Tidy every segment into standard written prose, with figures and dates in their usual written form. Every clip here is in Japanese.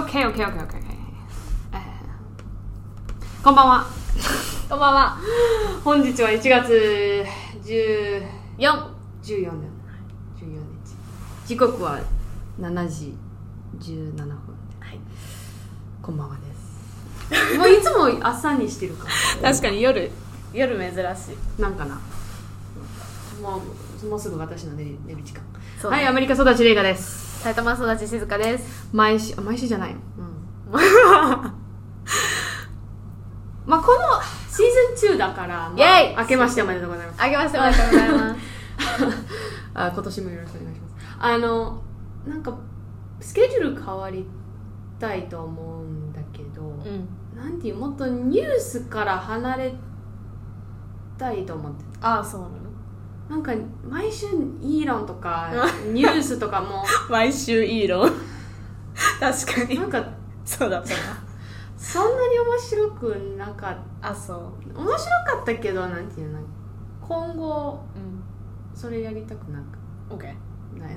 OK。こんばんは。 こんばんは。 本日は1月14日。時刻は7時17分。はい。こんばんはです。もういつも朝にしてるから。 確かに夜珍しい。 なんかな。もうすぐ私の寝る時間。 そうはい、アメリカ育ちレイガです。 埼玉育ち静香です。 毎週じゃないの。まあこのシーズン2だから、 イエイ明けましておめでとうございます。 明けましておめでとうございます今年もよろしくお願いします。なんかスケジュール変わりたいと思うんだけど、なんていうもっとニュースから離れたいと思ってああ、そうなの。 なんか毎週イーロンとかニュースとかも毎週イーロン確かになんかそうだったなそんなに面白くなかった。 あ、そう面白かったけど、なんていうの、今後、それやりたくなく OK ない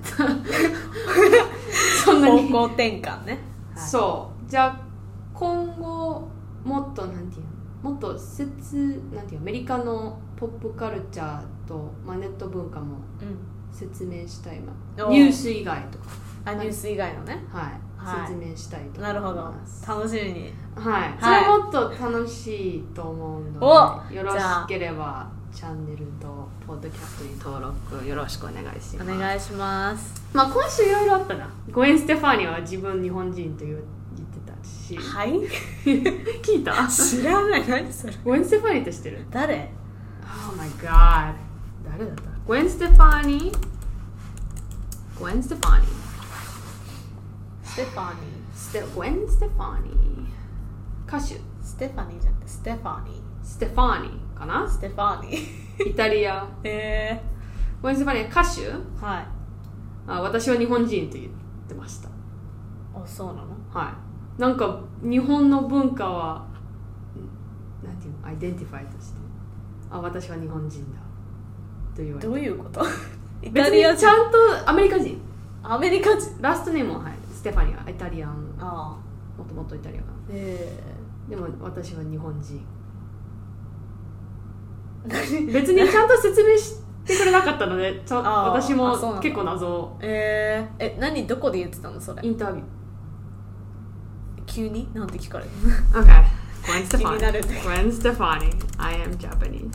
そんなに方向転換ね、 はい、そうじゃあ今後もっとなんていうの、もっとなんていうアメリカのポップカルチャーと、ネット文化も説明したい、ニュース以外とかニュース以外のね、 はい、説明したいと思います。 なるほど、楽しみに。 はい、それはもっと楽しいと思うので、よろしければチャンネルとポッドキャストに登録よろしくお願いします。 お願いします。 今週いろいろあったな。ゴエン・ステファーニは自分日本人と言ってたし。 はい。 聞いた？ 知らない。何それ。 ゴエン・ステファーニって知ってる？ 誰？ Oh my god。誰だった？ゴエン・ステファーニ。ゴエン・ステファーニ。ゴエン・ステファーニ。歌手。 ステファニーじゃなくてステファニー。 ステファーニかな？ ステファニー。 イタリア。ゴエン・ステファーニは歌手？ はい。 私は日本人と言ってました。 あ、そうなの？ はい。なんか日本の文化はなんていうの、アイデンティファイとして、私は日本人だと言われて。 どういうこと？イタリア人？別にちゃんとアメリカ人。 アメリカ人。 ラストネームは、はい、ステファニーはイタリアン。 もともとイタリアかな。でも私は日本人。別にちゃんと説明してくれなかったので、私も結構謎。 何どこで言ってたのそれ？ インタビュー。 急になんて聞かれるの？ OK。Gwen Stefani。 気になる。 Gwen Stefani。I am Japanese。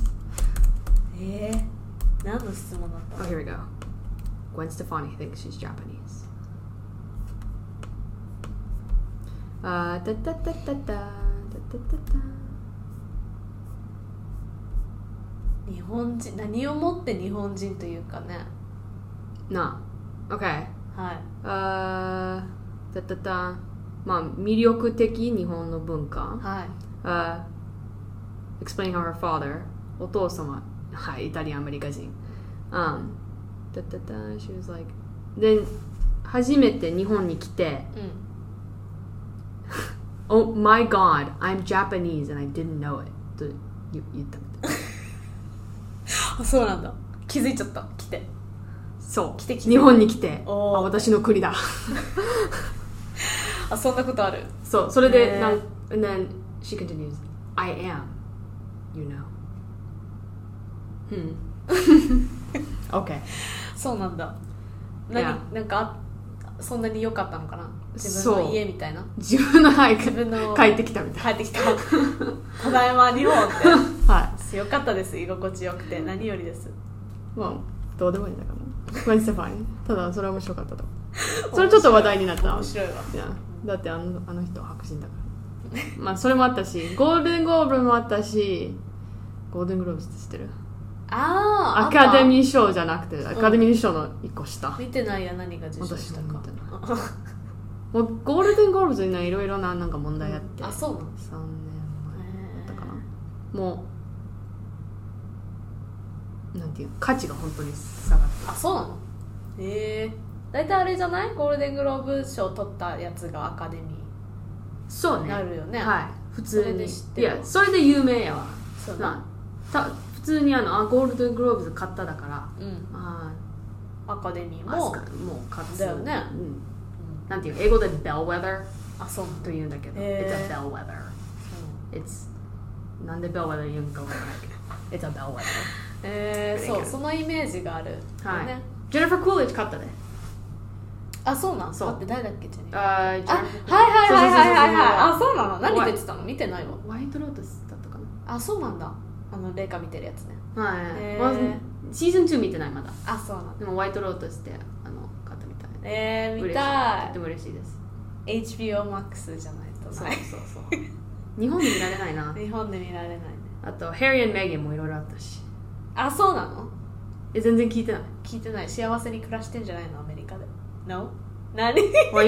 何の質問だった？ Oh, here we go. Gwen Stefani thinks she's Japanese. 日本人、何をもって日本人というかね。 なあ、OK。 はい。 魅力的日本の文化。 はい。 Explaining how her father、お父様、はい、イタリアンアメリカ人。She was like、で、初めて日本に来て、Oh my God, I'm Japanese and I didn't know it と言ったみたい。 あ、そうなんだ。気づいちゃった。来て。 そう。 来て。 日本に来て、私の国だ。 あ、そんなことある。 そう、それで、and then she continues, I am, you know. Okay. そうなんだ。なんかそんなに良かったのかな。自分の家みたいな。 自分の帰ってきたみたいな。 帰ってきた。ただいま日本って。 はい。 良かったです。居心地よくて何よりです。 まあどうでもいいんだから。ゴエン・ステファニー。ただそれは面白かったと。それちょっと話題になった。 面白いわ。 だってあの人は白人だから。まあそれもあったし、ゴールデングローブもあったし、ゴールデングローブって知ってる？アカデミー賞じゃなくて、アカデミー賞の一個下。 見てないや。何が受賞したか。 もうゴールデングローブズにはいろいろななんか問題あって。 あ、そうなの？ 3年前だったかな。もうなんていう価値が本当に下がって。 あ、そうなの？だいたいあれじゃない？ゴールデングローブ賞取ったやつがアカデミー。 そうね。 なるよね。 はい。普通に。 いや、 それで有名やわ。 そうな。 普通にゴールデングローブズ買っただから、 アカデミーももう買っただよね。 なんていう英語でベルウェザーあ、そうというんだけど、It's a bellwether. It's なんで bellwether 言うんかわからないけど It's a bellwether. そうそのイメージがある、 はい、ジェニファー・クーリッジ勝ったね。 あ、そうなん。 そう。 待って誰だっけ、ジェニファー。 はいはいあ、そうなの。何出てたの。見てないわ。 ホワイトロータスだったかな。 あ、そうなんだ。レイカ見てるやつね。 はい、シーズン2見てないまだ。 あ、そうなんだ。 でもホワイトロータスで勝ったみたい。 見たい。 とても嬉しいです。 HBO Max じゃないとない。 そう日本で見られないな。 日本で見られないね。 あとハリー&メーガンもいろいろあったし。 あ、そうなの。 全然聞いてない。 聞いてない。幸せに暮らしてんじゃないの、アメリカで。 No? 何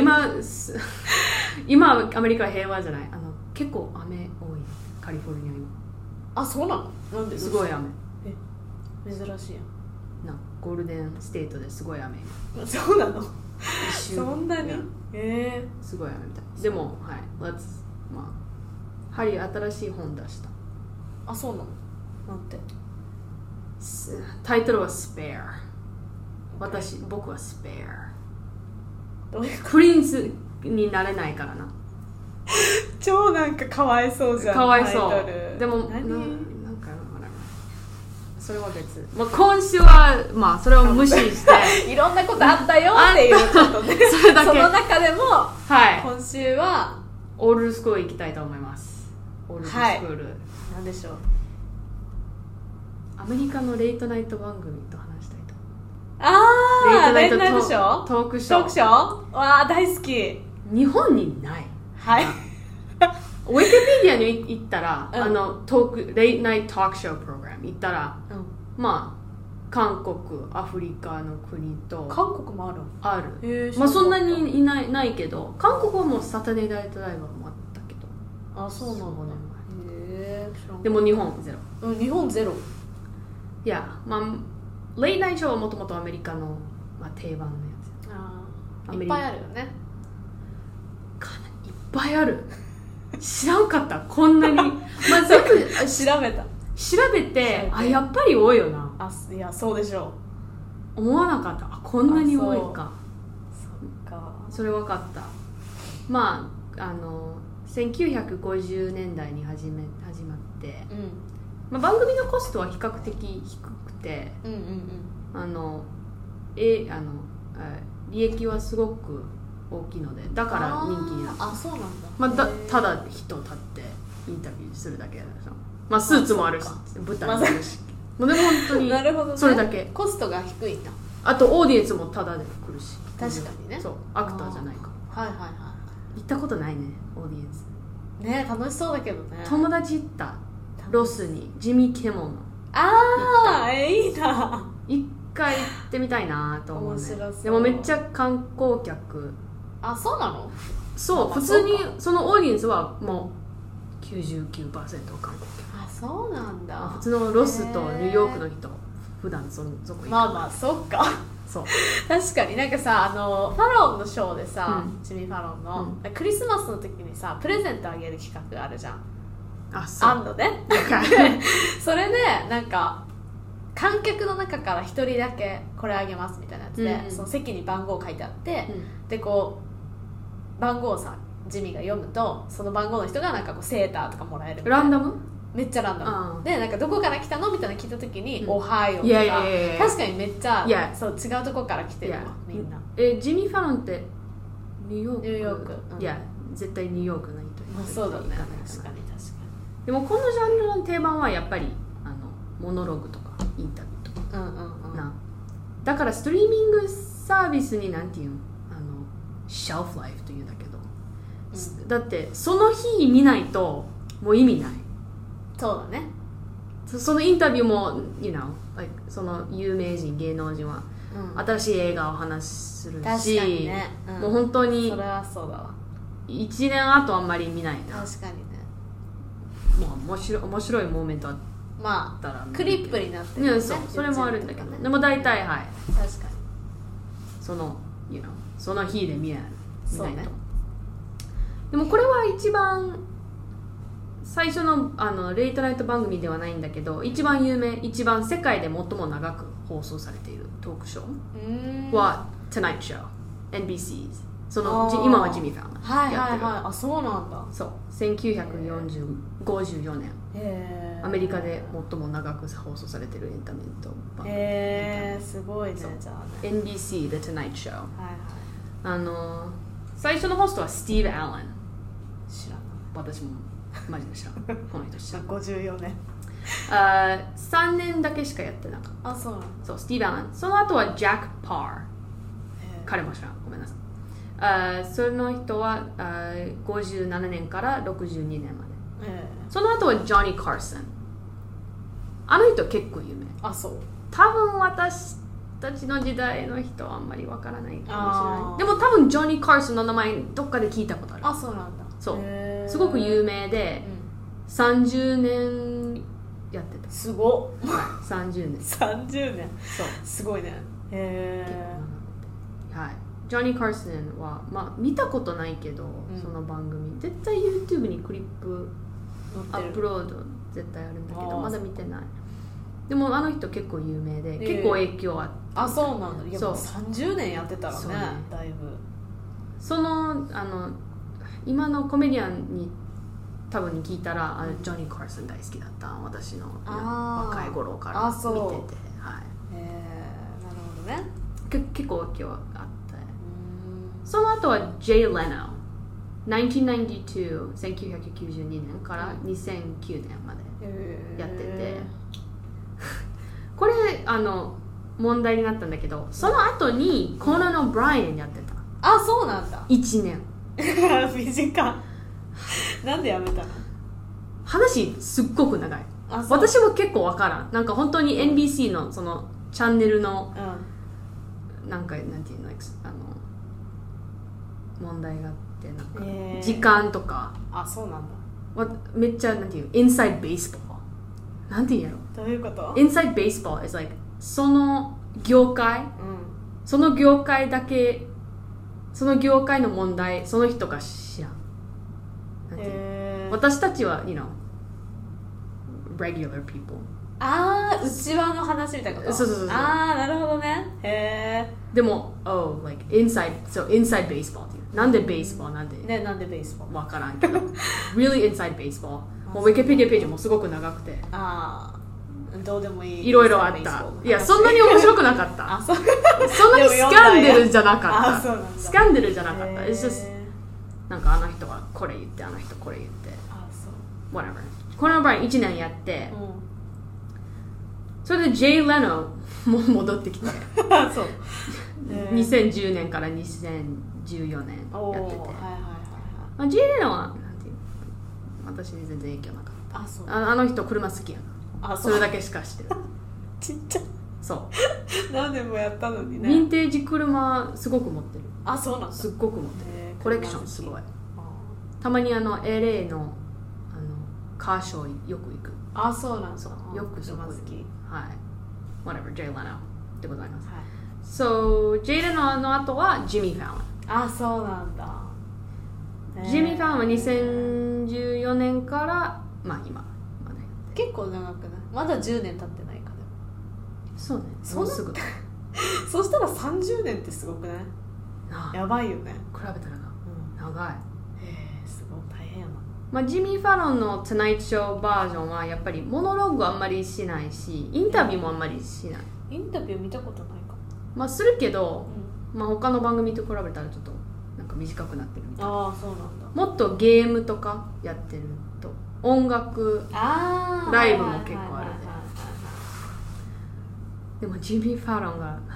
今アメリカは平和じゃない。結構雨多いカリフォルニア今。 あ、そうなの。なんで。 すごい雨。 珍しいやん。 ゴールデンステートですごい雨。 そうなの。そんなに。 すごい雨みたい。でもはい、ハリー新しい本出した。 あ、そうなの。なんて。 タイトルは Spare。僕は Spare。 どういうプリンスになれないからな。 超なんかかわいそうじゃん。 かわいそう。でもなんかそれは別。今週はそれを無視していろんなことあったよっていうことでそれだけ。その中でも、はい、今週はオールスクール行きたいと思います。オールスクール、 なんでしょう。 アメリカのレイトナイト番組と話したいと。 レイトナイトショー、 トークショーわー、大好き。 日本にない。 はいウィキペディアに行ったら、レイトナイトトークショープログラム行ったら、韓国、アフリカの国と。 韓国もある。 そんなにないけど、韓国はもうサタデーナイトライブもあったけど。 あ、そうなのね。 でも日本ゼロ。 日本ゼロ。 いや、レイトナイトショーはもともとアメリカの、定番のやつ。いっぱいあるよね。 いっぱいある。知らんかった。こんなに。全部調べて、やっぱり多いよな。 いや、そうでしょう。思わなかった。こんなに多いか。 そっか。 それ分かった。1950年代に始まって、番組のコストは比較的低くて、利益はすごく大きいので、だから人気になる。 そうなんだ。 ただ人立ってインタビューするだけでしょ。スーツもあるし、舞台もあるし、でも本当にそれだけ。 コストが低いんだ。 あとオーディエンスもタダで来るし。 確かにね。 そう、アクターじゃないから。行ったことないね、オーディエンスね。楽しそうだけどね。 友達行った。ロスにジミー・キモンの。 いいな。 一回行ってみたいなと思うね。 面白そう。 でもめっちゃ観光客。 そうなの。 そう、普通にそのオーディエンスはもう 99% 観光客。 そうなんだ。 普通のロスとニューヨークの人普段そこ行く。 そっか。そう。確かになんかさ、ファロンのショーでさ、ジミー・ファロンの、クリスマスの時にさ、プレゼントあげる企画があるじゃん。あんのね。それでなんか観客の中から一人だけこれあげますみたいなやつで、その席に番号書いてあって、でこう番号をさジミーが読むと、その番号の人がなんかこうセーターとかもらえるみたいな。 ランダム？ めっちゃランダムで、なんかどこから来たのみたいなの聞いた時に、オハイオとか、確かにめっちゃそう違うとこから来てるわ、みんな。 ジミー・ファロンってニューヨーク？いや、絶対ニューヨークの人。 そうだね。確かに。 でもこのジャンルの定番はやっぱりモノログとかインタビューとか、だからストリーミングサービスになんていうの、シェルフライフというんだけど、だってその日見ないともう意味ない。 そうだね。 そのインタビューも、その有名人芸能人は新しい映画を話するし、確かにね、もう本当にそれはそうだわ。 1年後あんまり見ないな。 確かにね。 面白いモーメントあったら、 クリップになってる、ね、 それもあるんだけど、でも大体確かにその日で見ないと、ね、でもこれは一番最初のレイトナイト番組ではないんだけど、一番有名、一番世界で最も長く放送されているトークショーは Tonight Show、NBC's 今はジミー・ファウンはいはいはいあそうなんだそう1954年アメリカで最も長く放送されてるエンタメと番組すごいねじゃあね NBC The Tonight Show、 はいはい、 最初のホストはスティーブ・アレン知らない私もマジで知らんこの人知らん 54年 3年だけしかやってなかった。 そうなのそうスティーブ・アレンその後はジャック・パー彼も知らんごめんなさいその人は57年から62年まで、その後はジョニー・カーソンあの人結構有名そう多分私たちの時代の人はあんまりわからないかもしれないでも多分ジョニー・カーソンの名前どっかで聞いたことあるそうなんだそうすごく有名で、30年やってたすごっ 30年 30年そうすごいねはいジョニー・カーソンは、見たことないけど、その番組絶対 YouTube にクリップアップロード絶対あるんだけどまだ見てないでもあの人結構有名で、結構影響あってそうなんだいやもう30年やってたら ねだいぶ今のコメディアンに多分に聞いたらジョニー・カーソン大好きだった私の若い頃から見ててはいなるほどね結構影響あってその後はジェイ・レノ1992年から2009年までやっててこれ問題になったんだけどその後にコナン・オブライエンやってたそうなんだ 1年短なんでやめたの話すっごく長い私も結構わからんなんか本当に NBC のそのチャンネルの、なんていうの問題があってなんか時間とかそうなんだめっちゃなんていうインサイドベースボールなんていうんやろどういうことインサイドベースボール is like その業界、その業界だけその業界の問題その人が知らんなんていう私たちはregular people 内輪の話みたいなことそうなるほどねでもlike inside baseball っていうなんでベースボールなんでなんでベースボールわからんけどreally inside baseball もうウィキペディアページもすごく長くてどうでもいいいろいろあったいやそんなに面白くなかったそんなにスキャンダルじゃなかったスキャンダルじゃなかった It's just なんかあの人はこれ言ってあの人これ言ってwhatever この場合1年やって、それでジェイ・レノも戻ってきてそう 2010年から2014年やっててジェイ・レノはなんていう私に全然影響なかったあの人車好きやなそれだけしかしてるちっちゃそう何年もやったのにねヴィンテージ車すごく持ってるそうなんだすっごく持ってるコレクションすごいたまにLA のカーショーよく行くそうなんだよくそこ好きはい whatever ジェイ・レノでございます、ジェイ・レノの後はジミー・ファウンそうなんだジミー・ファウンは2014年から今まで結構長くないまだ10年経ってないかでもそうねもうすぐそしたら30年ってすごくないやばいよね比べたら長いすごい大変やなジミー・ファロンの「トゥナイト・ショー」バージョンはやっぱりモノローグあんまりしないしインタビューもあんまりしないインタビュー見たことないかもするけど、他の番組と比べたらちょっとなんか短くなってるみたいなそうなんだもっとゲームとかやってると音楽ライブも結構あるでもジミー・ファロンが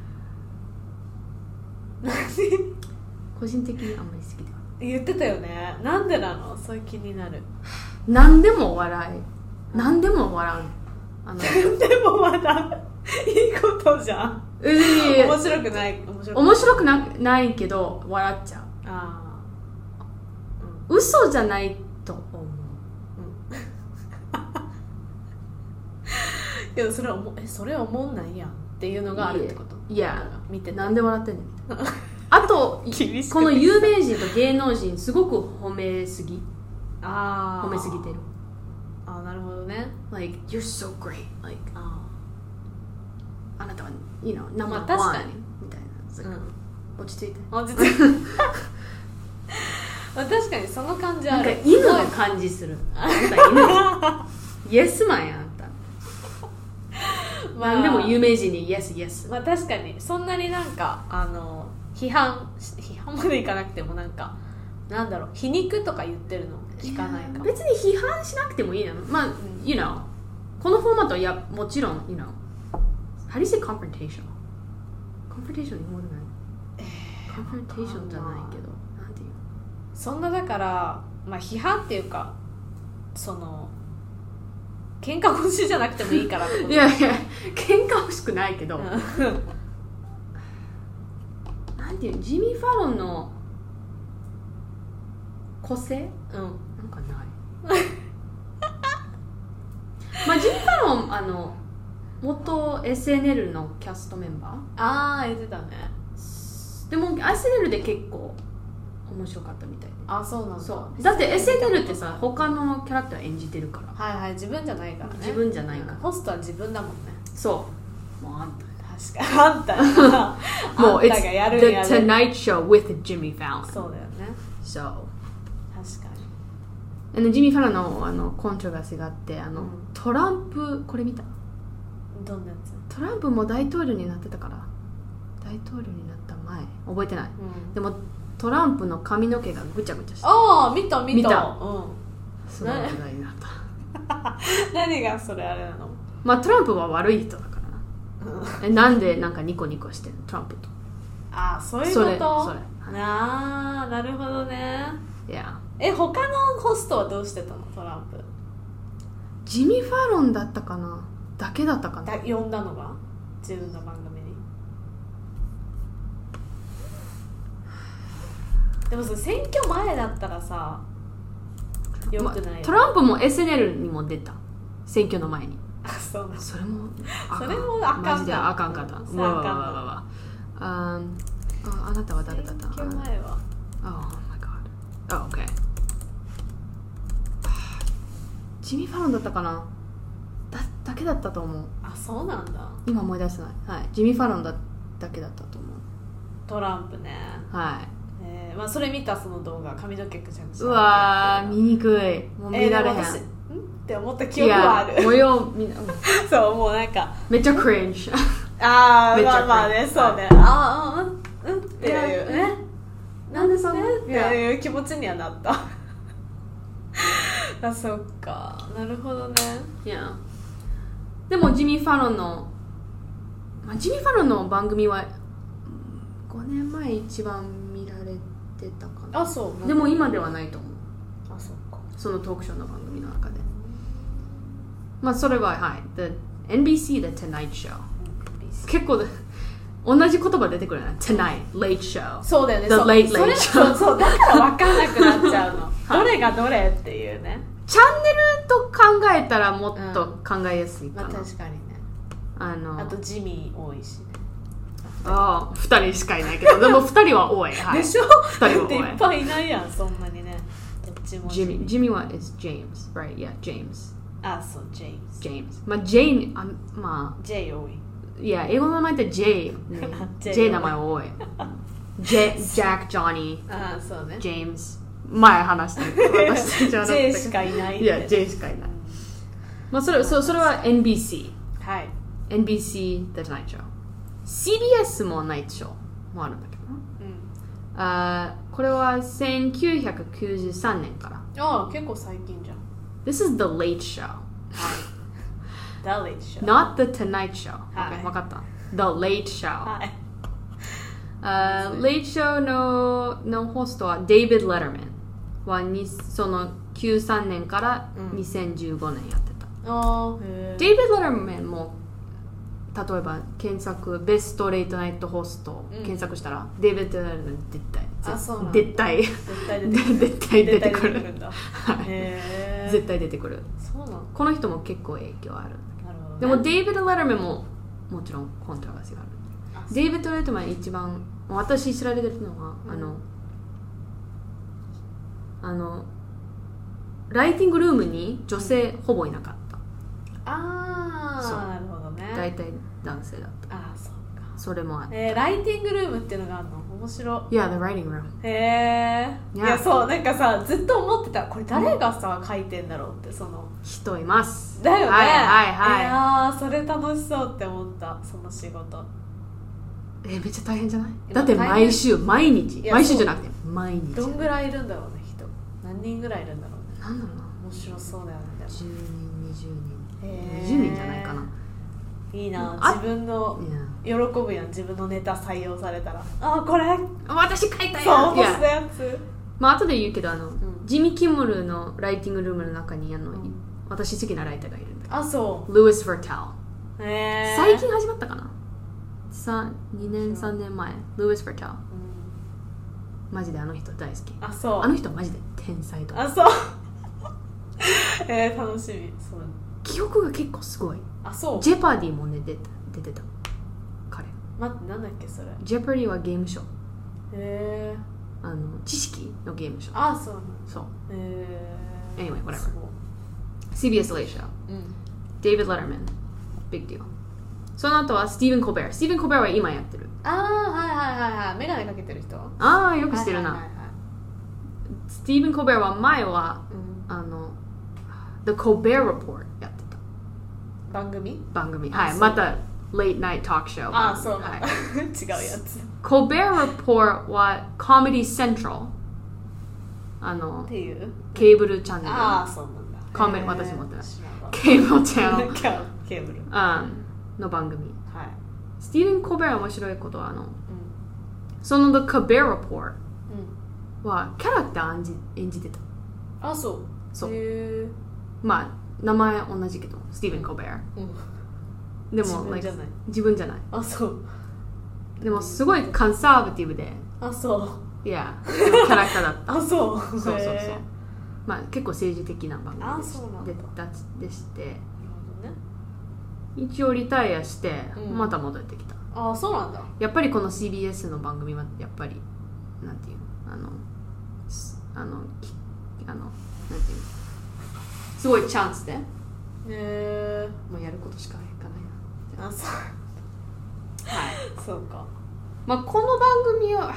個人的にあんまり好きでは言ってたよねなんでなのそういう気になる何でも笑う何でも笑う何でも笑ういいことじゃん面白くない面白くないけど笑っちゃう嘘じゃないと思うけどそれは思んないやんっていうのがあるってこといや見てなんで笑ってんねんみたいなあとこの有名人と芸能人すごく褒めすぎてるなるほどね like you're so great like あなたはナンバーワンみたいな落ち着いて確かにその感じある。 なんか犬の感じする。あんた犬イエスマンやんた。何でも有名人にイエスイエス。 まあ確かにそんなになんか批判までいかなくてもなんかなんだろう皮肉とか言ってるの聞かないか。 別に批判しなくてもいいなの。まあ、you know このフォーマットはいやもちろん you know how do you say confrontation 日本語でない。confrontation じゃないけどなんていう。 そんなだからまあ批判っていうかその喧嘩腰じゃなくてもいいからってこと。 いやいや喧嘩欲しくないけどなんていうジミー・ファロンの個性、なんかないまあジミー・ファロン元 SNL のキャストメンバー言ってたね。 でも SNL で結構面白かったみたいで。 そうなんだ。 そうだって SNL ってさ他のキャラクター演じてるから。 はい自分じゃないからね。 自分じゃないから、 ホストは自分だもんね。 そうもうあんた確かにあんたもうあんたがやるんや It's The Tonight Show with Jimmy Fallon。 そうだよね。 そう確かに。ジミー・ファロンのコントロバーシーがあってトランプこれ見た？ どんなやつ？ トランプも大統領になってたから大統領になった前覚えてない、でもトランプの髪の毛がぐちゃぐちゃして見たすごい話題になった何がそれあれなの？ まあトランプは悪い人だからな、なんでなんかニコニコしてるトランプと。 そういうこと。 それなるほどね。 いや他のホストはどうしてたの？トランプジミー・ファロンだったかなだけだったかな呼んだのが自分の番組に。でも選挙前だったらさよくないよ、 トランプも SNL にも出た選挙の前に。 そうなんだ。 それもあかんマジであかんかった。あなたは誰だった？ 選挙前は Oh my god. Okay. ジミー・ファロンだったかなだけだったと思う。 そうなんだ。 今思い出せない。はいジミー・ファロンだけだったと思う。 トランプね。 はいまあそれ見たその動画髪の毛ぐちゃぐちゃ。 うわ見にくい。もう見られへん。 って思った記憶はある。 模様そうもうなんかめっちゃクリンジ。 まあねそうね。っていうね。なんでそんなっていう気持ちにはなった。そっかなるほどね。 でもジミー・ファロンの番組は5年前一番見られてたかな。 そうでも今ではないと思う。 そっか。 そのトークショーの番組の中でまあそれはThe NBC The Tonight Show、結構同じ言葉出てくるね。 Tonight Late Show。 そうだよね。 The Late Late Show。 そうだから分かんなくなっちゃうのどれがどれっていうね。 チャンネルと考えたらもっと考えやすいかな、 確かにね。あとジミー多いしね。 2人しかいないけどでも2人は多い、 でしょ。 2人は多い。 いっぱいいないやんそんなにね。どっちもジミーは is James right yeah James。 そうジェームズ。 まあ J まあ J 多い。 いや英語の名前って J ねJ 名前多い。ジャック、ジョニー、 そうね。 ジェームズ前話した私じゃなくて J しかいない。 いや J しかいない。まあそれは NBC。 はい。 NBC The Tonight Show。CBS もナイトショーもあるんだけどな。これは1993年から。 結構最近じゃん。 This is The Late Show。 The Late Show。 Not The Tonight Show。分かった。The Late Show。Late Show のホストは David Letterman はその93年から2015年やってた。David Letterman も例えば検索ベストレイトナイトホスト検索したら、デイビッド・レルマン絶対出てくる。絶対出てくる。この人も結構影響ある。でもデイビッド・レルマンももちろんコントラバーシーがある。デイビッド・レルマン一番私知られてるのは、ライティングルームに女性ほぼいなかった。 なるほどね。 大体男性だった。 そうか。 それもあって、 ライティングルームっていうのがあるの？面面白い。Yeah, the writing room. へえ。いや、そう、なんかさ、ずっと思ってた、これ誰がさ、書いてんだろうって、その。 人います。 だよね。 はいはいはい。 いやー、それ楽しそうって思った、その仕事。 めっちゃ大変じゃない？だって毎週、毎日。毎週じゃなくて、毎日。 どんぐらいいるんだろうね、人。何人ぐらいいるんだろうね。 なんだろうな。 面白そうだよね。 10人、20人。20人じゃないかな。 いいな、自分の喜ぶやん、自分のネタ採用されたら、あ、これ私書いたやつ、 そう、したやつ。 まあ後で言うけど、ジミー・キムルのライティングルームの中に私好きなライターがいるんだけど、 あ、そう、 ルイス・ヴァータル。最近始まったかな、2年3年前。ルイス・ヴァータル、マジであの人大好き。 あ、そう、 あの人マジで天才と。 あ、そう楽しみ。そう、 記憶が結構すごい。 あ、そう、 ジェパディもね出てた彼。 待って、なんだっけそれ。 ジェパディはゲームショー。 へー、知識のゲームショー。 あ、そうそう。 Anyway, whatever. CBS Late Show、David Letterman, big deal。その後はスティーブン・コベア。スティーブン・コベアは今やってる。 ああ、はいはいはいはい、メガネかけてる人。 ああ、よくしてるな。スティーブン・コベアは前は、The Colbert Report やってた。 番組、 はい、また Late Night Talk Show。 ああ、そうなんだ、違うやつ。 Colbert Report は Comedy Central、 っていうケーブルチャンネル。 ああ、そうなんだ。 私も持ってない。ケーブルチャンネルケーブルの番組。 はい。 スティーブン・コベア面白いことはその The Colbert Report はキャラクター演じてた。 あ、そう。 そう。まあ名前同じけど、スティーブン・コベア。でも自分じゃない。 あ、そう。 でもすごいコンサバティブで。 あ、そう。 いや、キャラクターだった。 あ、そう。 そう。まあ結構政治的な番組でして。一応リタイアしてまた戻ってきた。 あ、そうなんだ。 やっぱりこの CBS の番組はやっぱりなんていうなんていうすごいチャンスで。もうやることしかいかないな。 あ、そう。はい。そうか。 まあこの番組は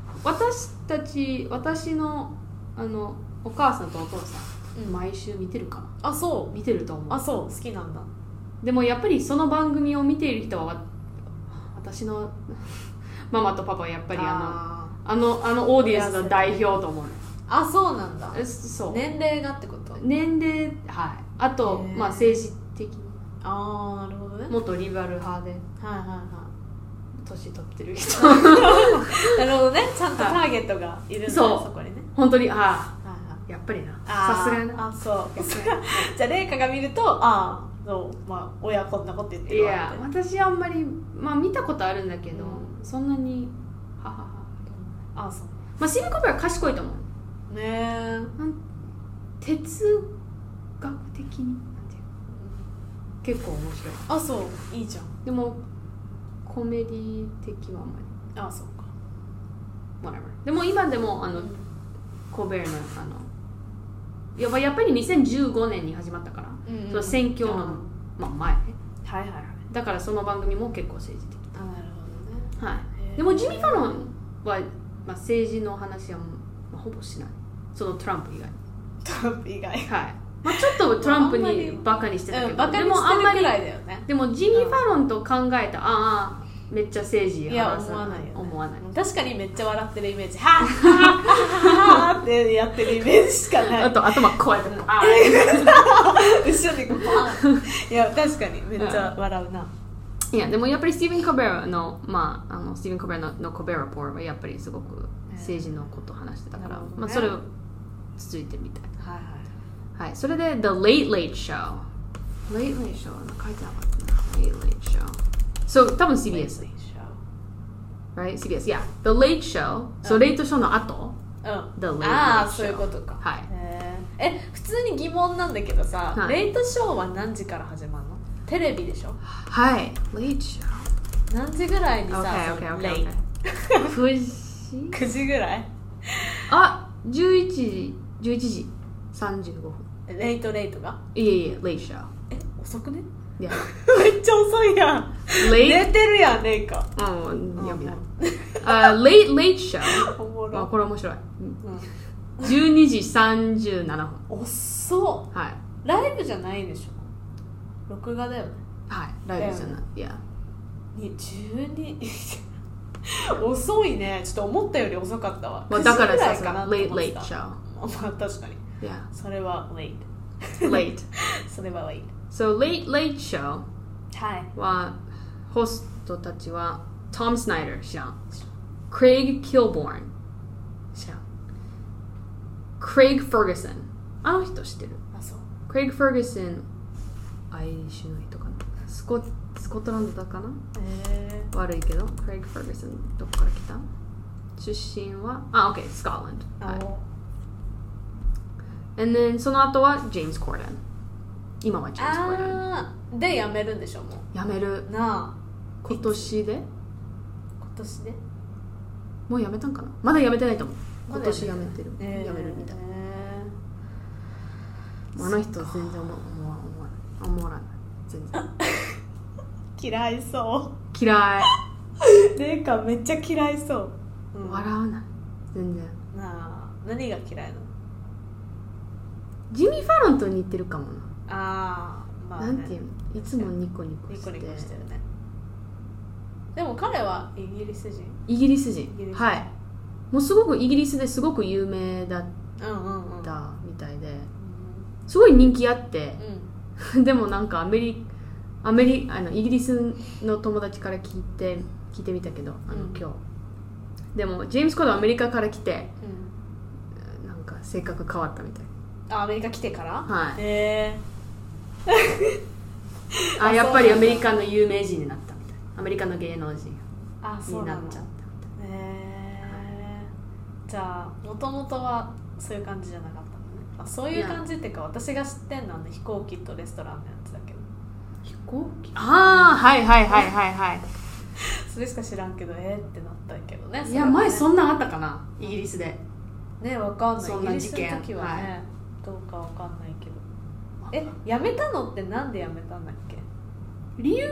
私のお母さんとお父さん、毎週見てるかな。 あ、そう。 見てると思う。 あ、そう。好きなんだ。 でもやっぱりその番組を見ている人は私のママとパパはやっぱりあのオーディエンスの代表と思う。 あ、そうなんだ。 そう。 年齢がってこと？ 年齢、はい。あと、まあ政治的に。 ああ、なるほどね。 もっとリベラル派で。 はいはいはい。 年取ってる人。 なるほどね。ちゃんとターゲットがいるんだね、そこにね。 本当に、やっぱりな。さすがにな。 あ、そう。じゃあ、レイカが見ると、そう、まあ、親こんなこと言ってるわって。 いや、私あんまり、まあ見たことあるんだけど、そんなに、 あ、そう。 まあ、シルコベは賢いと思う。 ねえ。 哲学的になんていう結構面白い。 あ、そう、いいじゃん。 でもコメディ的はあんまり。 あ、そうか。 whatever。でも今でもコベルのやっぱり2015年に始まったから、その選挙の、前ね。 はいはいはい。 だからその番組も結構政治的。 あ、なるほどね。 はい。でもジミー・ファロンは、政治の話は、ほぼしない。そのトランプ以外。 トランプ以外。はい。 まあ、ちょっとトランプにバカにしてたけど、 バカにしてるくらいだよね。 でもジミー・ファロンと考えためっちゃ政治話す。いや、思わないよね。 思わない。 確かにめっちゃ笑ってるイメージ。はぁはぁってやってるイメージしかない。 あと頭こうやって後ろにこうパン。いや、確かにめっちゃ笑うな。 いや、でもやっぱりスティーブン・コベラのスティーブン・コベラのコベラポーはやっぱりすごく政治のことを話してたから、まあそれを続いてみたい。 はいはい。 はい、それで The Late Late Show。 Late Late Show 書いてなかったな。 Late Late Show。 So 多分 CBS Right? CBS, yeah. The Late Show. So レイトショーの後、The Late Late Show。 ああ、そういうことか。 はい。 普通に疑問なんだけどさ、レイトショーは何時から始まるの？テレビでしょ？ はい。Late Show。 何時ぐらいにさ、 9 時ぐらい？ あ、11時35分。 レイトが？ いえ、Late Show。 遅くね？ Yeah. めっちゃ遅いやん。寝てるやん、レイカ。 読みない。Late Show。これ面白い。12時37分。 遅っ。 はい。 ライブじゃないでしょ。録画だよね。 はい、ライブじゃない。いや。 12遅いね。ちょっと思ったより遅かったわ。 だからさ、Late Show。 まあ確かに。それは late。それは late。 So Late Show はホストたちは Tom Snyder 知らん。Craig Kilborn 知らん。Craig Ferguson あの人知ってる。 あ、そう。 Craig Ferguson アイリッシュの人かな。スコットランドだかな。悪いけど Craig Ferguson どこから来た？出身はOK Scotland。はい。And then その後は James Corden。今は James Corden。 で辞めるんでしょもう。 辞める。 なあ。 今年で？ 今年で？ もう辞めたんかな。まだ辞めてないと思う。今年辞めてる。辞めるみたい。あの人全然思わない。全然。 嫌いそう。 嫌い。 レイカめっちゃ嫌いそう。 笑わない。全然。 なあ、何が嫌いなの？ ジミー・ファロンと似てるかもな。 まあ、ね、 なんていうの？いつもニコニコして。 ニコニコしてるね。でも彼はイギリス人。 イギリス人。はい。もうすごくイギリスですごく有名だったみたいで、すごい人気あって、でもなんかイギリスの友達から聞いてみたけど、今日。でもジェームス・コードはアメリカから来て、なんか性格変わったみたい。 アメリカ来てから？ はい。やっぱりアメリカの有名人になったみたい。アメリカの芸能人になっちゃったみたい。 じゃあもともとはそういう感じじゃなかったのね。そういう感じっていうか、私が知ってんのは飛行機とレストランのやつだけど。 飛行機？はいはいはいはいはい。 それしか知らんけどってなったけどね。 いや前そんなんあったかな、イギリスで。 ね、わかんない。 そんな事件。 イギリスの時はね、どうかわかんないけど。辞めたのってなんで辞めたんだっけ？ 理由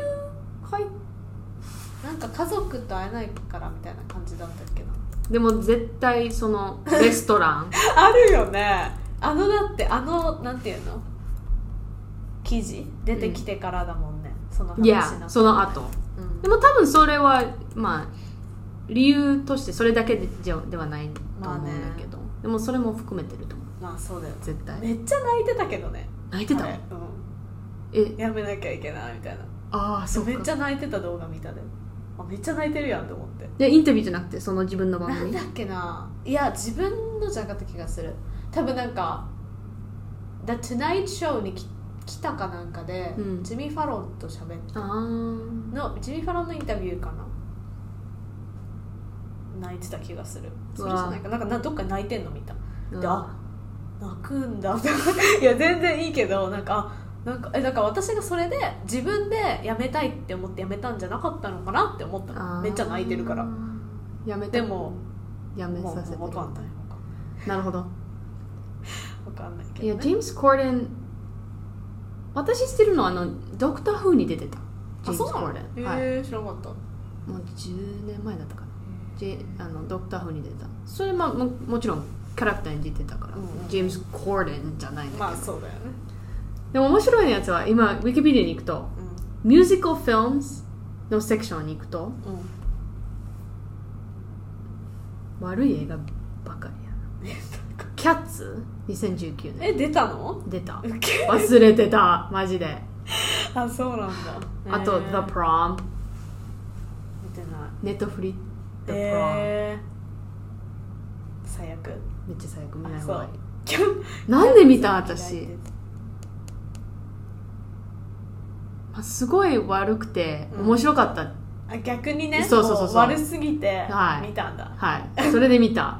なんか家族と会えないからみたいな感じだったっけな。 でも絶対そのレストランあるよね。だってなんていうの記事出てきてからだもんね、その話の。 いやその後、でも多分それはまあ理由としてそれだけではないと思うんだけど、でもそれも含めてると思う。 まあそうだよ、 絶対。 めっちゃ泣いてたけどね。 泣いてた？ やめなきゃいけないみたいな。そうか。めっちゃ泣いてた動画見たで。めっちゃ泣いてるやんと思って。 でインタビューじゃなくてその自分の番組。 なんだっけな。いや自分のじゃなかった気がする。多分なんか The Tonight Show に来たかなんかで、ジミー・ファロンと喋ってジミー・ファロンのインタビューかな。泣いてた気がする。それじゃないか。なんかどっか泣いてんの見た。で泣くんだいや全然いいけどだから私がそれで自分で辞めたいって思って辞めたんじゃなかったのかなって思ったの。めっちゃ泣いてるから。でも辞めさせてる。 分かんない。 なるほど。 分かんないけど、ね、 いやジェームス・コーデン、私知ってるのはドクター・フーに出てた。ジェームス・コーデン。 はい、知らなかった。 もう10年前だったかな。ドクター・フーに出てた。それもちろんキャラクターに出てたから、ジェームス・コーデンじゃないんだけど。 まあそうだよね。 でも面白いやつは今ウィキペディアに行くと、ミュージカルフィルムズのセクションに行くと、悪い映画ばかりやな。キャッツ2019年。 出たの？ 出た。忘れてたマジで。 そうなんだ。 あと The Prom。 見てない。 ネットフリ The Prom。 最悪。 めっちゃ最悪。見ない方がいい。なんで見た私。すごい悪くて面白かった。 逆にね。 そう悪すぎて見たんだ。 はい。それで見た。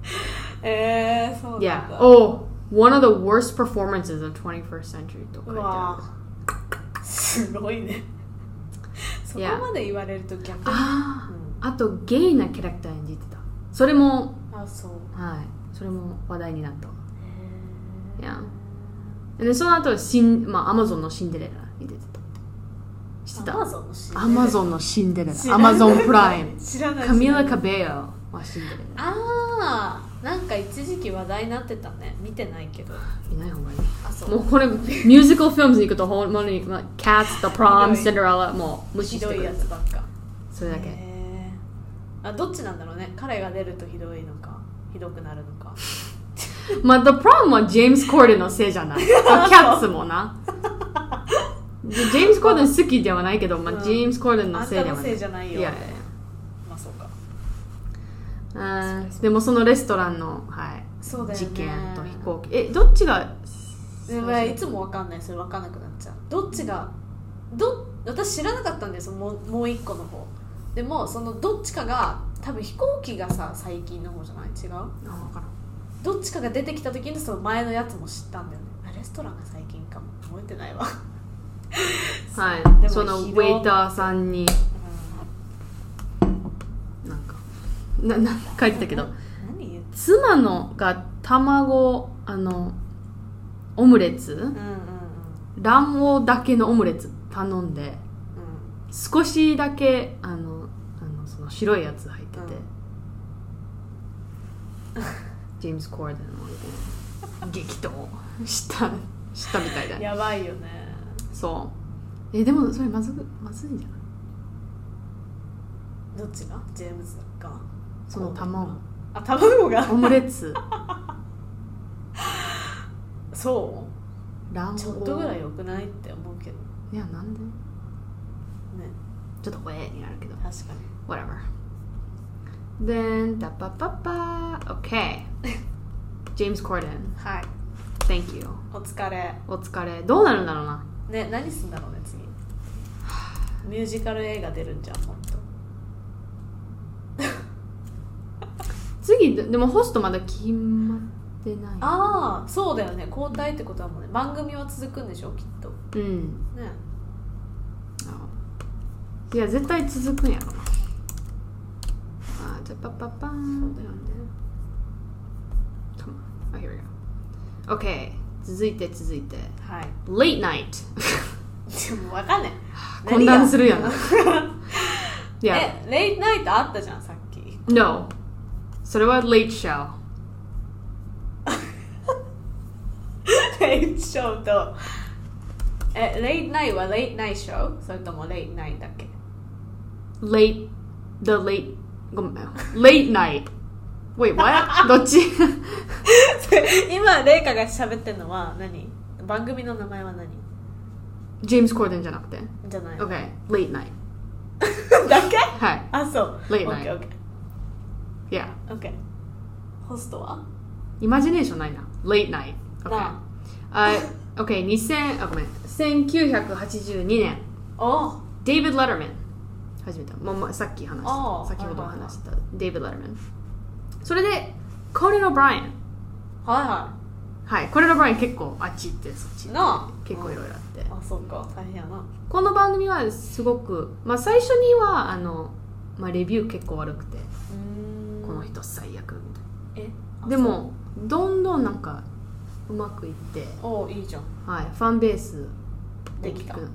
そうなんだ。 One of the worst performances of 21st century と書いてある。すごいね。そこまで言われると逆に。 あとゲイなキャラクターに出てた。それもそう。 はい。それも話題になった。でその後Amazon のシンデレラに出てた。 知ってた？ アマゾンのシンデレラ。アマゾンプライム。 知らない。 カミラ・カベヨはシンデレラ。 ああ、なんか一時期話題になってたね。見てないけど。 見ない方がいい。 あ、そう。 もうこれミュージカルフィルムズに行くとほんまに Cats, The Prom, Cinderella もう無視してくる。 ひどいやつばっか。 それだけ。 あ、どっちなんだろうね。彼が出るとひどいのか、ひどくなるのか。 まあ The Prom はジェームス・コーデンのせいじゃない。Cats もな。ジェームス・コーデン好きではないけど、まあ、ジェームス・コーデンのせいではない。 あんたのせいじゃないよ。 いやいや。 まあそうか。 でもそのレストランの、はい、 そうだよね、 事件と飛行機。どっちがいつも分かんない。それ分かんなくなっちゃう。どっちが私知らなかったんですよ。もう一個の方でも、そのどっちかが多分飛行機がさ、最近の方じゃない？違う？ 分からん。 どっちかが出てきた時にその前のやつも知ったんだよね。レストランが最近かも覚えてないわ。 はい、そのウェイターさんに、なんか書いてたけど、妻のが卵オムレツ、卵黄だけのオムレツ頼んで、少しだけその白いやつ入ってて、ジェームス・コーデンの激闘したみたいだ。 やばいよね。 そう。でもそれまずいんじゃない？ どっちが？ジェームズが？ その卵がオムレツそうちょっとぐらい良くないって思うけど。 いや、なんでね、ちょっとになるけど、 確かに whatever then タパパパ OK ジェームス・コーデン、 はい、 Thank you。 お疲れ。 どうなるんだろうなね。何すんだろうね次。ミュージカル映画出るんじゃん。ほんと次でもホストまだ決まってない。 ああ、そうだよね。交代ってことはもうね、番組は続くんでしょきっと。ね。 いや、絶対続くんやろな。じゃあパパパーン。 そうだよね。 Here we go. OK。続いて。 はい。 Late night。 でも分かんない。 混乱するやん。 レイトナイトあったじゃんさっき。 No。それは Late Show。 レイトショーとレイトナイトはレイトナイトショー？それともレイトナイトだっけ？ Late ごめん Late Night Wait what? どっち？ 今レイカが喋ってるのは何？番組の名前は何？ ジェームス・コーデンじゃなくて？ じゃない。 OK Late Night だけ？ はい。 あ、そう。 Late Night OK Yeah OK。ホストは？ イマジネーションないな。 Late Night OK 1982年デイビッド・レターマン始めた。さっき先ほど話したデイビッド・レターマン。それでコナン・オブライアン。はいコナン・オブライアン結構あっち行ってそっち行って結構いろいろあって、 あ、そうか、大変やな。 この番組はすごく、最初にはレビュー結構悪くて、この人最悪みたいな。でもどんどんなんかうまくいって、 いいじゃん。 はい、ファンベースできた。はい、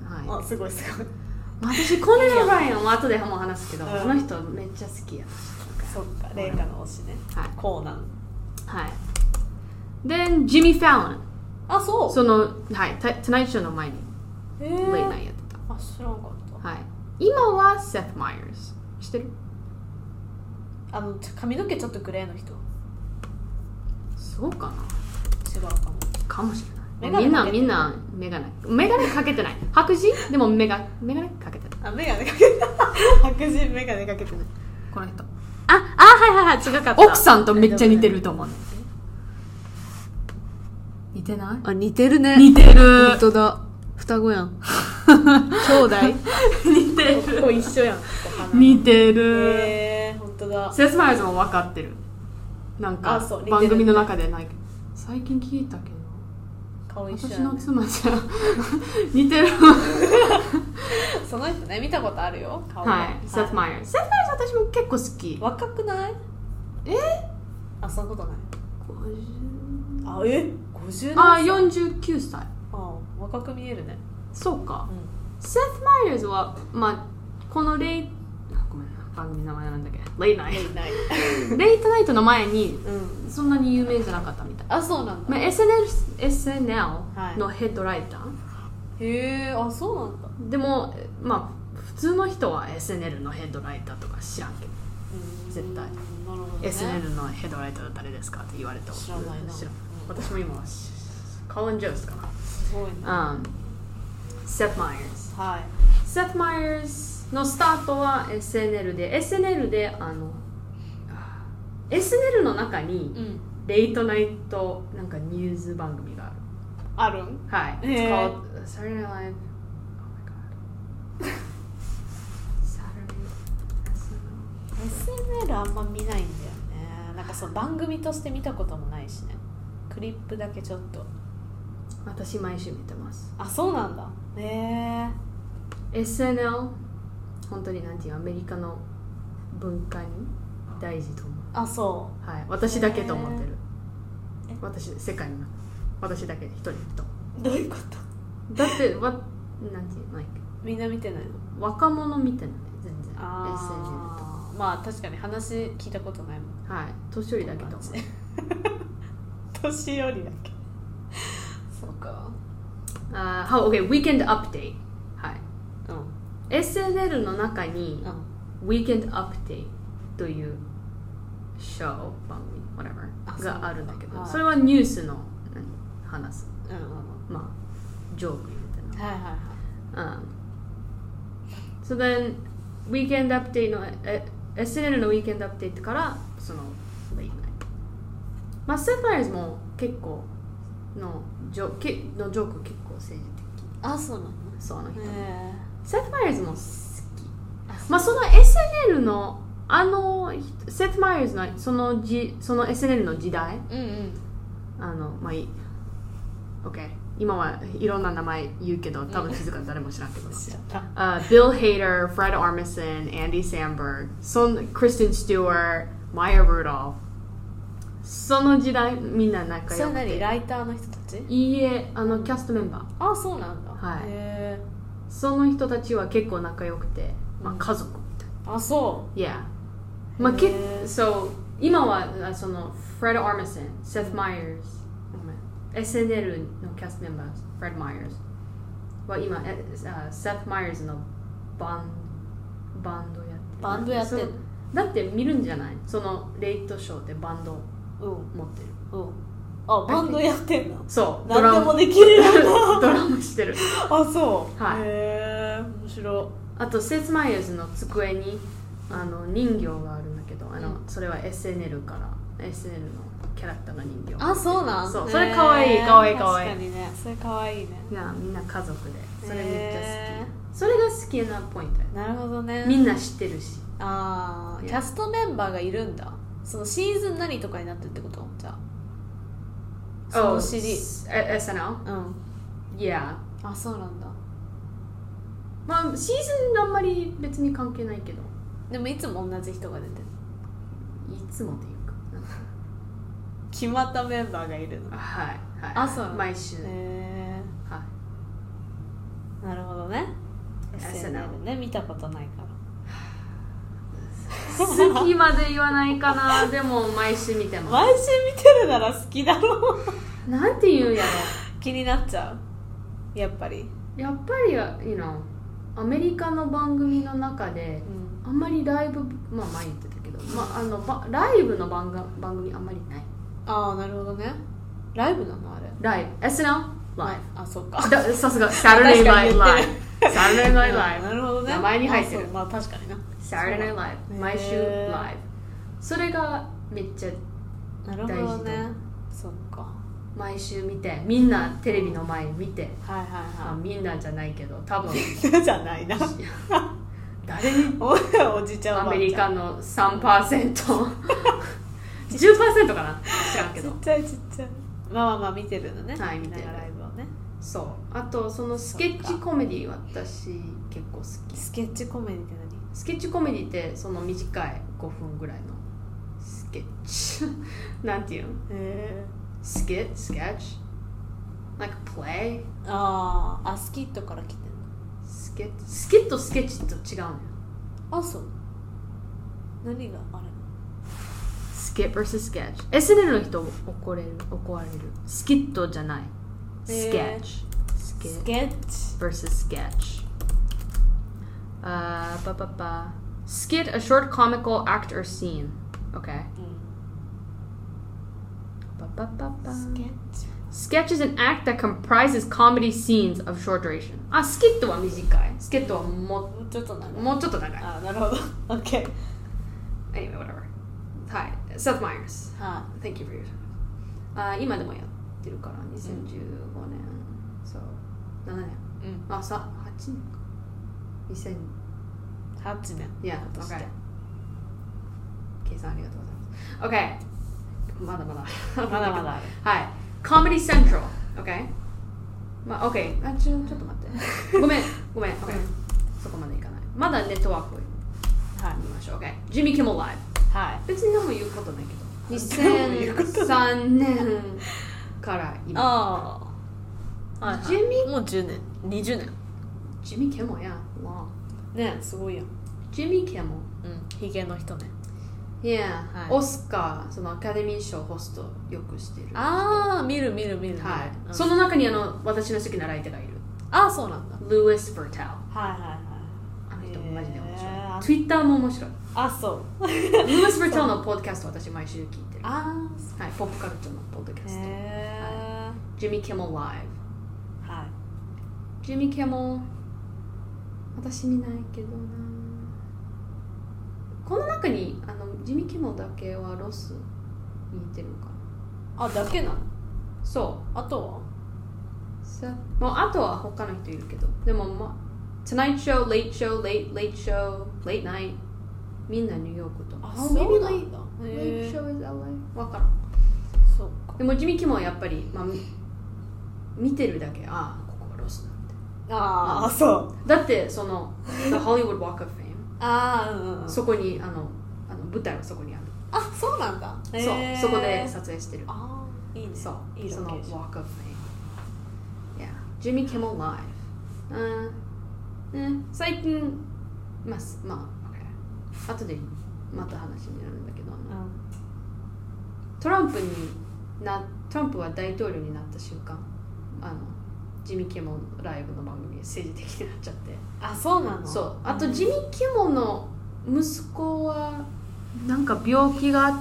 すごい。 私コナン・オブライアンは後でも話すけど、この人めっちゃ好きや。 そっか、レイカの推しね。コーナン。 はい。Then ジミー・ファロン。 あ、そう。 その、はい、Tonight Show の前にレイナーやってた。 あ、知らんかった。 はい。今はセス・マイヤーズ。知ってる？ 髪の毛ちょっとグレーの人。 そうかな。 違うかも。 かもしれない。みんなメガネかけてない。白人でもメガネかけてない。 メガネかけてない。白人メガネかけてない。 この人。 はい、違かった。 奥さんとめっちゃ似てると思う。似てない？ 似てるね。 似てる。 本当だ。双子やん。兄弟？ 似てる。 ここ一緒やん。 似てる。 本当だ。 セス・マイヤーズも分かってる。なんか番組の中でないけど。最近聞いたけど。 顔一緒や私の妻じゃ似てる。 その人ね、見たことあるよ。顔はい。セス・マイヤーズ。セス・マイヤーズ私も結構好き。 若くない？そんなことない。50？ 50？ 49歳。 若く見えるね。 そうか。 セス・マイヤーズは、まあ、このごめんな、番組の名前なんだっけ、レイナイトレイトナイトの前に、そんなに有名じゃなかったみたい。 あ、そうなんだ。 まあ、SNL のヘッドライター、はい、 へえ、あ、そうなんだ。 でも、まあ、普通の人は SNL のヘッドライターとか知らんけど、絶対、ね、SNL のヘッドライターは誰ですかって言われたら知らないな。私も今はコリン・ジョースかな。 すごいな。 セス・マイヤーズ、 はい、 セス・マイヤーズのスタートは SNL で SNL の中に、レイトナイトなんかニュース番組がある。はい。It's called Saturday Night Live. Oh my god. SNL あんま見ないんだよね。なんかその番組として見たこともないしね。クリップだけちょっと。 私毎週見てます。 あ、そうなんだ。 SNL 本当になんていうアメリカの文化に大事と思う。 あ、そう。 はい。私だけと思ってる。世界の私だけ一人と。 どういうこと？ だってなんていうの、 みんな見てないの？ 若者見てない全然。 SNL と。まあ確かに話聞いたことないもん。 はい。年寄りだけと思う。 年寄りだけ。そうか。 OK, Weekend Update。はい。SNL の中に、Weekend Update というショー、番組、whatever があるんだけど、それはニュースの話す。まあ、ジョークみたいな。はいはいはい。So then, Weekend Update の、SNL の Weekend Update から、その、Late Night。まあ、セス・マイヤーズも結構のジョーク結構政治的。 あ、そうなの？ そうなの人。セス・マイヤーズも好き。まあ、その SNL のセス・マイヤーズのその SNL の時代、まあいい OK、 今はいろんな名前言うけど多分気づか誰も知らんけどBill Hader, Fred Armisen, Andy Samberg, Kristen Stewart, Maya Rudolph、 その時代みんな仲良くて。 それ何ライターの人たち？ いいえ、キャストメンバー。 あ、そうなんだ。 はい。その人たちは結構仲良くて、まあ、家族みたいな。 あ、そう。 Yeah。まあ、そう今はその Fred Armisen, Seth Meyers、SNL のキャストメンバー Fred Meyers は今Seth Meyers のバンドやってる。だって見るんじゃない？そのレイトショーでバンド持ってる。 あ、バンドやってんの？ そう。 何でもできるよな。 ドラムしてる。 あ、そう。 はい。 へー、面白い。 あとセス・マイヤーズの机に人形があるんだけど、それは SNL から SNL のキャラクターの人形。 あ、そうなん？ そう。それかわいいかわいいかわいい。 確かにね。それかわいいね。 いや、みんな家族で。それめっちゃ好き。それが好きなポイント。 なるほどね。 みんな知ってるし。 ああ、キャストメンバーがいるんだ。そのシーズン何とかになってるってこと？じゃあ。そのシリーズ。 SNL？ Yeah。 あ、そうなんだ。 まあシーズンあんまり別に関係ないけど。 でもいつも同じ人が出てる。 いつもっていうか。 決まったメンバーがいるの。 はい。 あ、そう。 毎週。 はい。なるほどね。SNL ね、見たことないから。 好きまで言わないかな。でも毎週見てます。 毎週見てるなら好きだろう。 なんて言うんやろ。 気になっちゃう。やっぱりはアメリカの番組の中で、あんまりライブ、まあ前言ってたけど、ライブの番組あんまりない。 ああ、なるほどね。ライブなのあれ。 ライブ SNL ライブ。 あ、そうか。 さすが Saturday Night Live。Saturday Night Live。 なるほどね。 名前に入ってる。 まあ確かにな。 Saturday Night Live。毎週ライブ。それがめっちゃ大事。 なるほどね。そっか。 毎週見て、みんなテレビの前見て。みんなじゃないけど、多分。 みんなじゃないな。 誰におじちゃんアメリカの 3%。10% かな知らんけど。 ちっちゃい。まあ見てるのね。 はい、見てる。 ライブをね。 そう。あとそのスケッチコメディ私結構好き。 スケッチコメディって何？ スケッチコメディってその短い5分ぐらいのスケッチなんていうの？スケッチ like play。 スキットから来てるの。 ススケッチとスケッチと違うのよ。 あ、そう。何があれ？ スケット vs スケッチ。SNL の人怒られる。スキットじゃない。スケッチ。スケッチ vs スケッチ。Skit, a short comical act or scene. Okay. Sketch is an act that comprises comedy scenes of short duration. あ、スキットは短い。スキットはもうちょっと長い。 あ、なるほど。OK。 Anyway, whatever. はい。Seth Meyers. Thank you for your time. 今でもやってるから2015年、そう7年。あ、8年か。 2008年。 Yeah, okay. 計算ありがとうございます。OK。まだまだある。はい。Comedy Central. OK。まあ、OK。ちょっと待って。ごめん。OK。そこまでいかない。まだネットワークを見ましょう。OK。Jimmy Kimmel Live。はい。別に何も言うことないけど。2003年から今。 はい。ジミもう10年。20年。 ジミー・キモや。 ね、すごいよ。 ジミー・キモ。 ヒゲの人ね。 いや、オスカー、そのアカデミー賞ホストよくしてる。 見る。 はい。その中に私の好きなライターがいる。 そうなんだ。 ルイス・ファーテル。 あの人もマジで面白い。Twitter も面白い。 そう。 ルイス・ファーテルのポッドキャスト私毎週聞いてる。はい、ポップカルチャーのポッドキャスト。ジミー・キモライブ。はい。ジミー・キモ、私見ないけどな。この中にジミー・キモだけはロスに似てるかな。だけなの？ そう。 あとは？ もうあとは他の人いるけど、でもTonight Show, Late Show, Late Show, Late Night みんなニューヨークと。 そうなんだ。 Late Show is LA わからん。 そうか。 でもジミー・キモはやっぱり見てるだけここはロスなんて。 そう。 だってその The Hollywood Walk of Fame そこに舞台はそこにある。 そうなんだ。 そこで撮影してる。 いいね。 そう。その Walk of Fame。Jimmy Kimmel Live。最近後でまた話になるんだけど、トランプは大統領になった瞬間ジミー・キモライブの番組で政治的になっちゃって。 そうなの？ そう。あとジミー・キモの息子はなんか病気があって、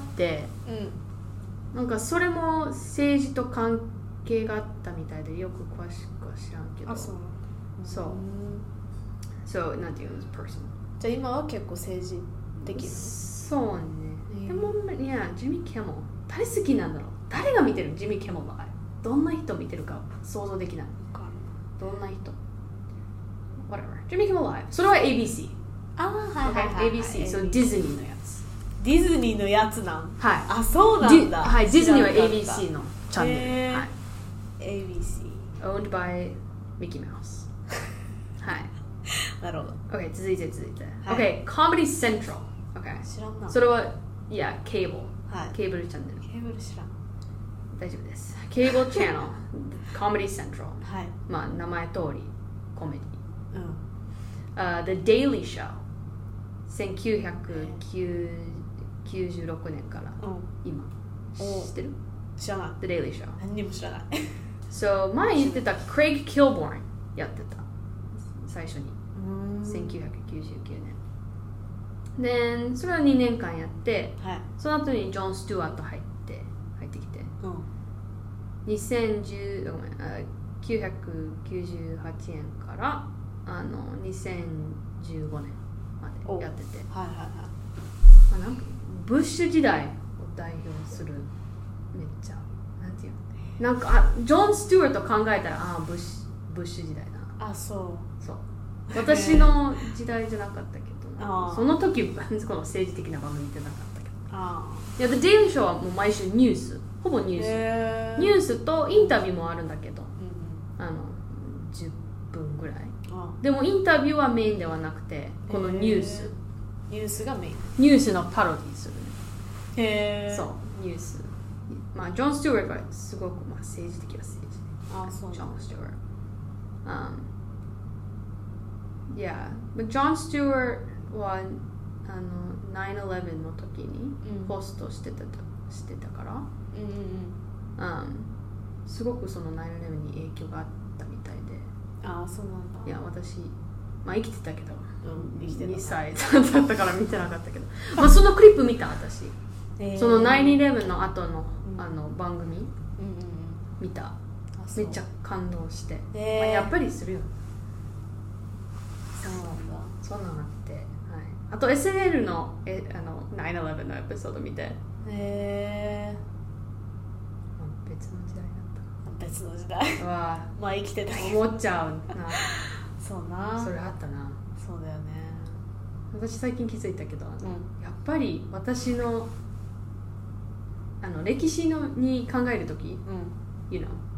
なんかそれも政治と関係があったみたいでよく詳しくは知らんけど。そうなんていうの、personal。 じゃあ今は結構政治的なの？ そうね。でもジミー・キモ誰好きなんだろう。誰が見てるジミー・キモの場合。どんな人見てるか想像できない。どんな人 whatever Jimmy Kimmel Live それは ABC はい、ABC そうディズニーのやつ。 ディズニーのやつなん。 はい。 そうなんだ。 はい、ディズニーは ABC のチャンネル。はい。 ABC owned by Mickey Mouse はいなるほど。 OK 続いて、OK Comedy Central OK 知らんな。 それはケーブル、ケーブルチャンネル。 ケーブル知らん。 大丈夫です。ケーブルチャンネルComedy Central はい。 名前通りコメディ。The Daily Show 1996年から今知ってる？ 知らない。 The Daily Show 何にも知らない。 そう前言ってた Craig Kilborn やってた最初に1999年でそれは2年間やって、その後にジョン・スチュワート入ってきて、1998年から2015年までやってて、なんかブッシュ時代を代表するめっちゃなんていうのなんかジョン・スチュワート考えたらブッシュ時代な。そう私の時代じゃなかったけどその時この政治的な番組ってなかったけどThe Daily Show はもう毎週ニュースほぼニュースとインタビューもあるんだけど、10分ぐらいでもインタビューはメインではなくてこのニュースがメイン。 ニュースのパロディするそうニュースジョン・スチュワートはすごく政治的な政治ジョン・スチュワート Yeah, but Jon Stewart は9/11の時にホストしてたから、すごくその9/11に影響があったみたいで。 ああ、そうなんだ。 いや、私、まあ生きてたけど、 生きてた 2歳だったから見てなかったけど、まあそのクリップ見た私。その9/11の後の番組見た。めっちゃ感動して、まあ、やっぱりするよ。 そうなんだ。 そんなのあって、はい、あと SNL の9/11のエピソード見て、別の時代だった。 別の時代はまあ生きてたけど思っちゃうな。 そうな、 それあったな。 そうだよね。 私最近気づいたけど、やっぱり私の歴史に考えるとき、you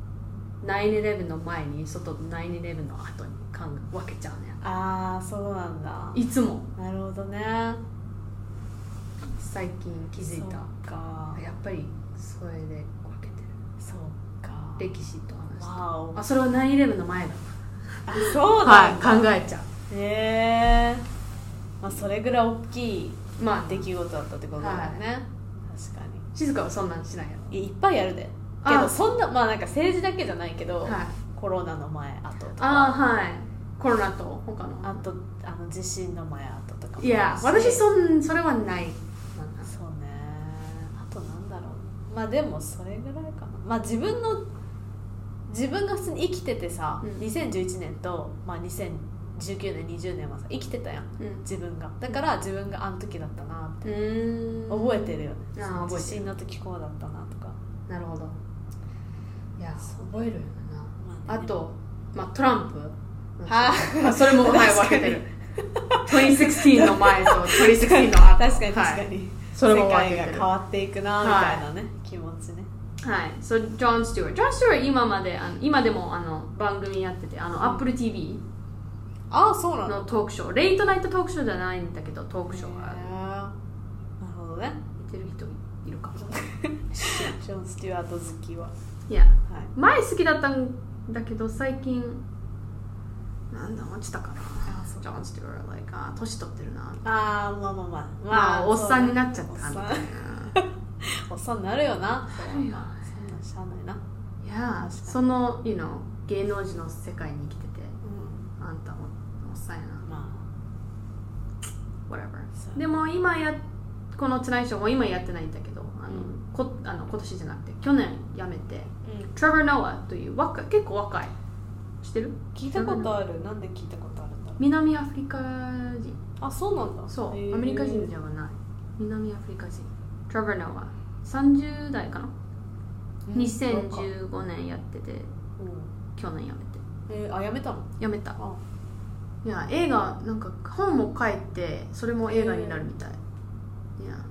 know、9/11の前に9/11の後に分けちゃうね。 ああ、そうなんだ。 いつも。 なるほどね。 最近気づいた。 そうか。 やっぱりそれで分けてる。 そうか。 歴史と話して。 わお。 それは9/11の前だ。 あ、そうなんだ。 はい、考えちゃう。 まあそれぐらい大きい出来事だったってことだよね。確かに。 静香はそんなんしないやろ。 いっぱいあるで。けどそんな、まあなんか政治だけじゃないけど、コロナの前後とか、 はい、コロナと他のあと地震の前後とかも。 いや、私それはない。 そうね。あとなんだろう。まあでもそれぐらいかな。まあ自分が普通に生きててさ、2011年と、まあ、2019年20年はさ生きてたやん、自分が。だから自分があの時だったなって覚えてるよね。地震の時こうだったなとか。 なるほど。いや、覚えるよな。あと、まあ、トランプ。それも、はい、分けてる。2016の前と2016の後。 確かに確かに。それも世界が変わっていくなみたいなね、気持ちね。 はい。ジョン・スチュワート今でも番組やってて、Apple TV のトークショー、レイトナイトトークショーじゃないんだけど、トークショーがある。 なるほどね。 見てる人いるかも。 ジョン・スチュワート好きは。 いや、前好きだったんだけど、最近なんだ落ちたかな。ジョン・スチュワート、年取ってるな。まあおっさんになっちゃったみたいな。 おっさんになるよな。そんなしゃあないな。 いや、その芸能人の世界に生きてて、あんたおっさんやな。まあ whatever。でもこのトゥナイトショーも今やってないんだけど、今年じゃなくて去年辞めて、トレバー・ノアという結構若い。知ってる？ 聞いたことある。なんで聞いたことあるんだろう。 南アフリカ人。 あ、そうなんだ。 そう、アメリカ人ではない。南アフリカ人。トレバー・ノア。30代かな。2015年やってて、去年辞めて。 辞めたの？辞めた。いや、映画なんか本も書いて、それも映画になるみたい。いや、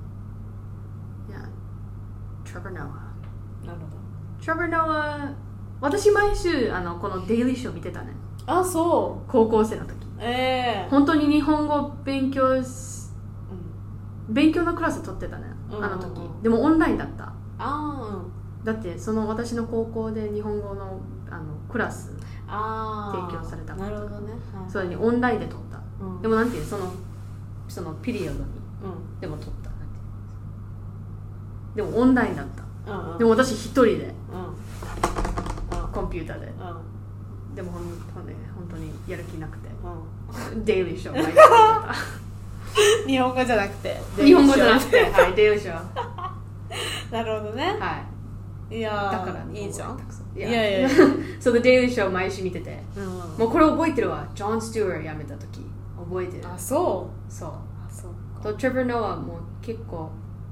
トレバー・ノア。 なるほど。 トレバー・ノア、私毎週このデイリーショー見てたね。 あ、そう。 高校生の時。本当に日本語勉強のクラス取ってたね、あの時。でもオンラインだった。だって私の高校で日本語のクラス提供されたから。 なるほどね。 それにオンラインで取った。でもなんていうそのピリオドに、でも取った。でもオンラインだった。でも私一人で、コンピューターで。でも本当にやる気なくて、デイリーショー毎日見てた。 日本語じゃなくて、 日本語じゃなくて、はい、デイリーショー。 なるほどね。 はい。いやだからいいじゃん。 いやそう、デイリーショー毎週見てて、もうこれ覚えてるわ。ジョン・スチュワート辞めた時覚えてる。 あ、そう。 とトレバー・ノアも結構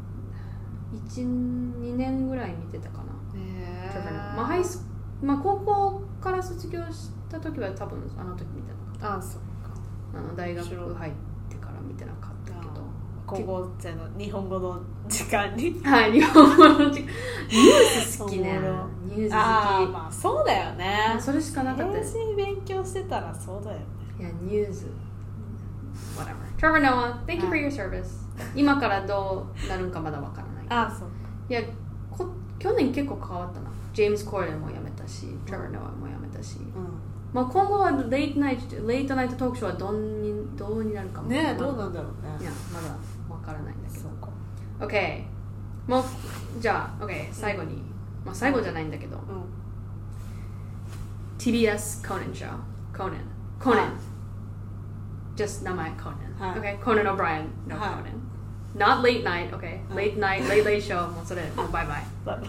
1,2 年ぐらい見てたかな。トレバー・ノア。まあ高校から卒業した時は多分あの時見てなかった。 そっか。 大学入ってから見てなかったけど、 高校生の日本語の時間に。 はい、日本語の時間。ニュース好きね。ニュース好き。 まあそうだよね。 それしかなかったです。 勉強してたらそうだよね。 いや、ニュース whatever。 Trevor Noah, thank you for your service。 今からどうなるんかまだわからない。 そう。 いや、去年結構変わったな。ジェームズ・コーデンも辞めたし、トレバー・ノアも辞めたし、 まあ、今後はレイトナイトトークショーはどうになるかもね。どうなんだろうね。 いやまだわからないんだけど。OK、もうじゃあ OK 最後に、まあ最後じゃないんだけど、TBS Conan Show Conan just 名前 Conan、OK Conan O'Brien no Conan not late night OK、late night late show もうそれもうバイバイ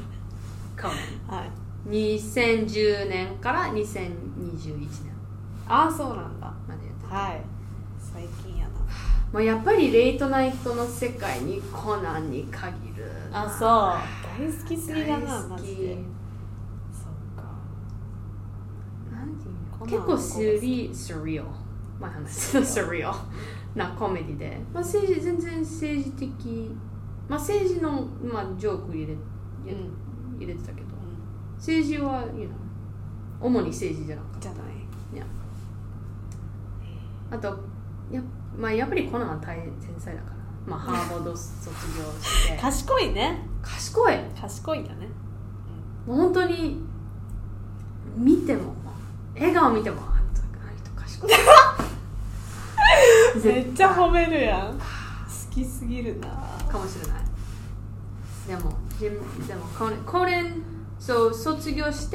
Conan、2010年から2021年。 ああそうなんだ。 までやってた。はい。最近やな。 まあやっぱりレイトナイトの世界にコナンに限る。 あ、そう。大好きすぎだな、マジで。そっか。 なんていうの？結構スリオ。まあ話スリオなコメディで、まあ全然政治的、まあ政治のまあジョーク入れてたけど、政治は主に政治じゃなかった。 じゃない。 いや。あとまあやっぱりコナンは天才だから。まあ、ハーバード卒業して賢いね。賢いんだね。 もう本当に見ても笑顔見てもあの人賢いめっちゃ褒めるやん。好きすぎるな。 かもしれない。でもコナンそう卒業して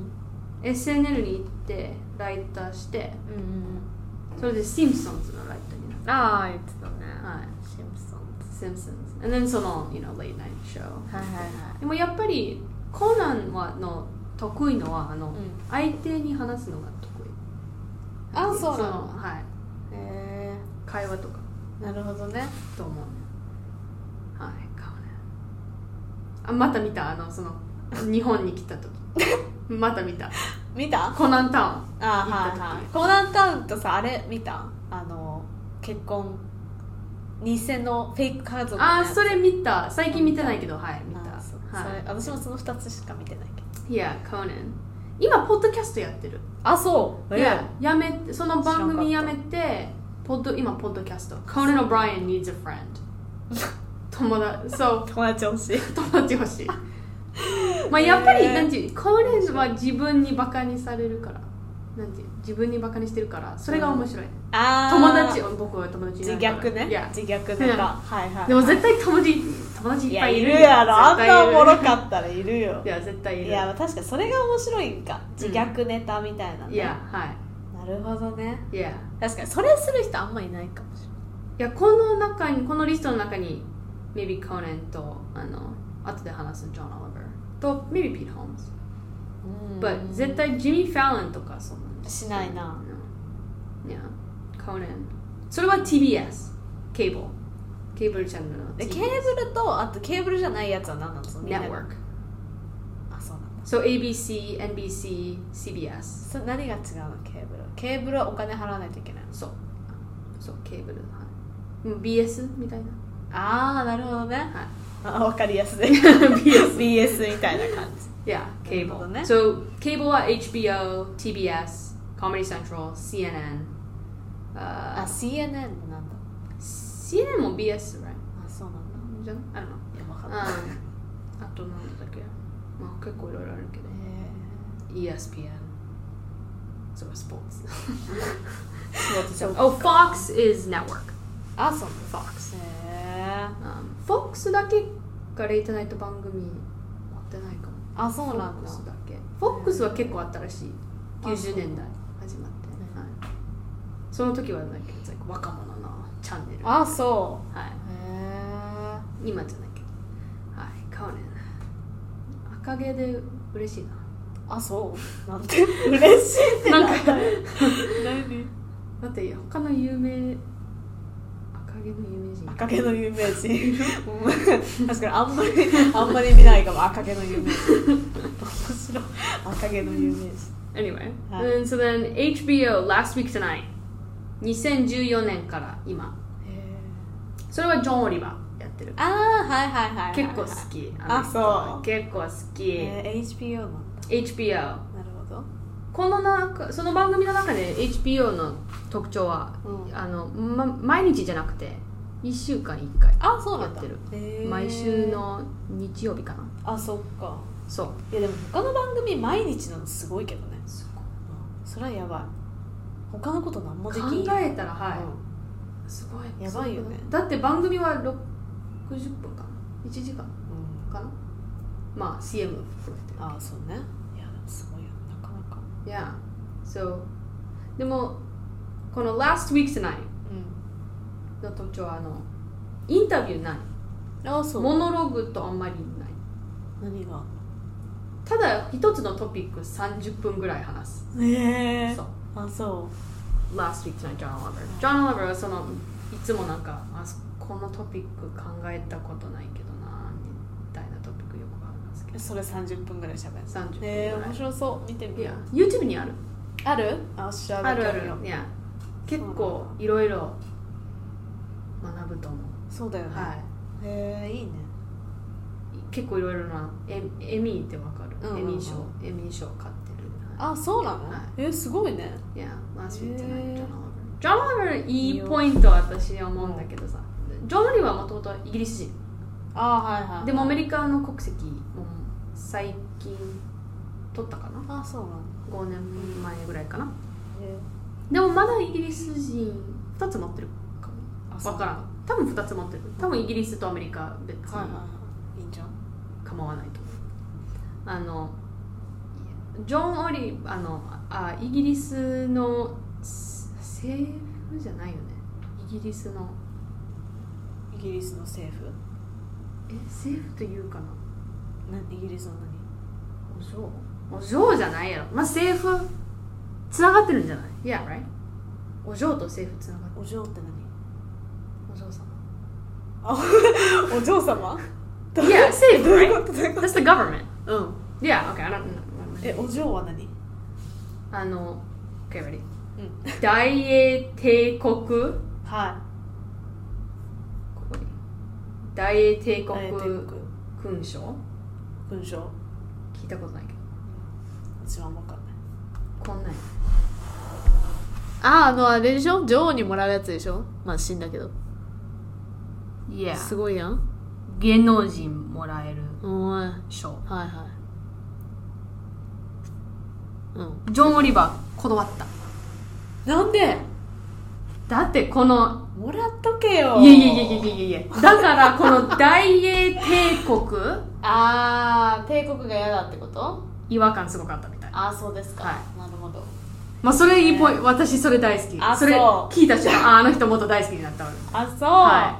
、SNL に行ってライターして、それでシンプソンズのライターになった。 ああ言ってたね。 はい。 Simpsons and then その、late night show。でもやっぱりコナンの得意のは相手に話すのが得意。 あ、そうなの。 はい。会話とか。 なるほどね。 と思うね。はい、コナン。また見たその日本に来た時。また見たコナンタウン。 コナンタウンとさあれ見た？結婚偽のフェイク家族のやつ。 それ見た。最近見てないけど、はい見た。 私もその2つしか見てないけど。 いや、コナン今ポッドキャストやってる。 あ、そう。 いや、やめて、その番組やめて今ポッドキャスト Conan O'Brien needs a friend 友達欲しいまあやっぱりなんていうコナンは自分にバカにされるからなんていう自分にバカにしてるからそれが面白い、僕は友達いないから自虐ネタ、 でも絶対友達いっぱいいるやろ。あんなおもろかったらいるよ。 いや絶対いる。 いや確かにそれが面白いんか、自虐ネタみたいなね。 いやはい。 なるほどね。 いや確かにそれする人あんまいないかもしれない。 いやこのリストの中に maybe Conan と後で話す John Oliver と maybe Pete Holmes、but 絶対ジミー・ファロンとかそんなしないな。 いやConanそれは TBS ケーブルチャンネルの TBS。 ケーブルとあとケーブルじゃないやつは何なの？ Network。 あ、そうなんだ。 So ABC、NBC、CBS。 何が違うの？ケーブルはお金払わないといけない。 そうケーブル、はい、BS みたいな。 なるほどね。 はい、 分かりやすいBS みたいな感じ。 いや、ケーブルね。So ケーブルは HBO、TBS、Comedy Central、CNN。 CNN なんだ。 CNN も BS、right？ そうなんだ。 じゃん？I don't know。 いや、分かんない。 あとなんだっけ？まあ結構いろいろあるけど。ESPN。So sports. Fox is network. あ、そう。 Fox. Fox だけがレイトナイト番組持ってないかも。 あ、そうなんだ。 Fox だけ。Fox は結構新しい。90年代始まって。その時はなんか若者のチャンネル。 あ、そう。 はい。今じゃないけど。はい。カーネン。赤毛で嬉しいな。 あ、そう。なんて嬉しいってなんか何？ だって他の有名赤毛の有名人確かにあんまり見ないかも。赤毛の有名人面白い。赤毛の有名人。 Anyway、and so then HBO Last Week Tonight 2014年から今。それはジョン・オリバーやってる。 はい結構好き。 あ、そう。 結構好き。 HBO なんだ。 HBO。 なるほど。 その番組の中で HBO の特徴は、毎日じゃなくて1週間1回やってる。毎週の日曜日かな。 あ、そっか。 そう。 いやでも他の番組毎日のすごいけどね。 それはやばい。他のこと何もできん。 考えたらはい、すごいやばいよね。 だって番組は60分かな、1時間かな、まあ CM 含めて。 ああそうね。いやすごいよなかなか。 Yeah. So でもこの Last Week Tonight の特徴はインタビューない。 あそう。 モノローグとあんまりない。 何が？ ただ一つのトピック30分ぐらい話す。そう。 あそう。 Last Week Tonight John Oliver はいつもなんかこのトピック考えたことないけどなみたいなトピックよくあるんですけど。 それ30分ぐらい喋る。 30分ぐらい。 面白そう。見てみよう。YouTube にある？ ある？ある。 いや結構いろいろ学ぶと思う。 そうだよね。はい。いいね。 結構いろいろなエミーってわかる？エミー賞買ってる。 あ、そうなの？すごいね。 いや、Last Week Tonightジョン・オリバーいいポイントは私は思うんだけどさ、ジョン・オリバーはもともとイギリス人。 はいはい。 でもアメリカの国籍も最近取ったかな。 あ、そうなの。 5年前ぐらいかな。でもまだイギリス人2つ持ってるかも。分からん。多分2つ持ってる。多分イギリスとアメリカ別にいいんじゃん。 構わないと思う。ジョン・オリイギリスの政府じゃないよね。イギリスの政府？ 政府というかな。 イギリスの何？お嬢じゃないやろ。まあ政府つながってるんじゃない？ Yeah, right? お嬢と政府つながってる。 お嬢って何？ お嬢様。 お嬢様 ？Yeah, 政府 right? That's the government. Yeah, okay, I don't know. お嬢は何 ？Okay, ready? 大英帝国。 はい。 ここに。大英帝国勲章？ 勲章？ 聞いたことないけど。 私は分かんない。 こんなん。 あれでしょ？女王にもらうやつでしょ？まあ死んだけど。 Yeah. すごいやん。 芸能人もらえる賞。 はいはい。 ジョン・オリバー断った。 なんで？ だってこのもらっとけよ。 いやだからこの大英帝国帝国が嫌だってこと？ 違和感すごかったみたい。 そうですか。 はい。 なるほど。 まあそれいいポイント。私それ大好き。それ聞いた瞬間あの人もっと大好きになったわ。 そう。 はい。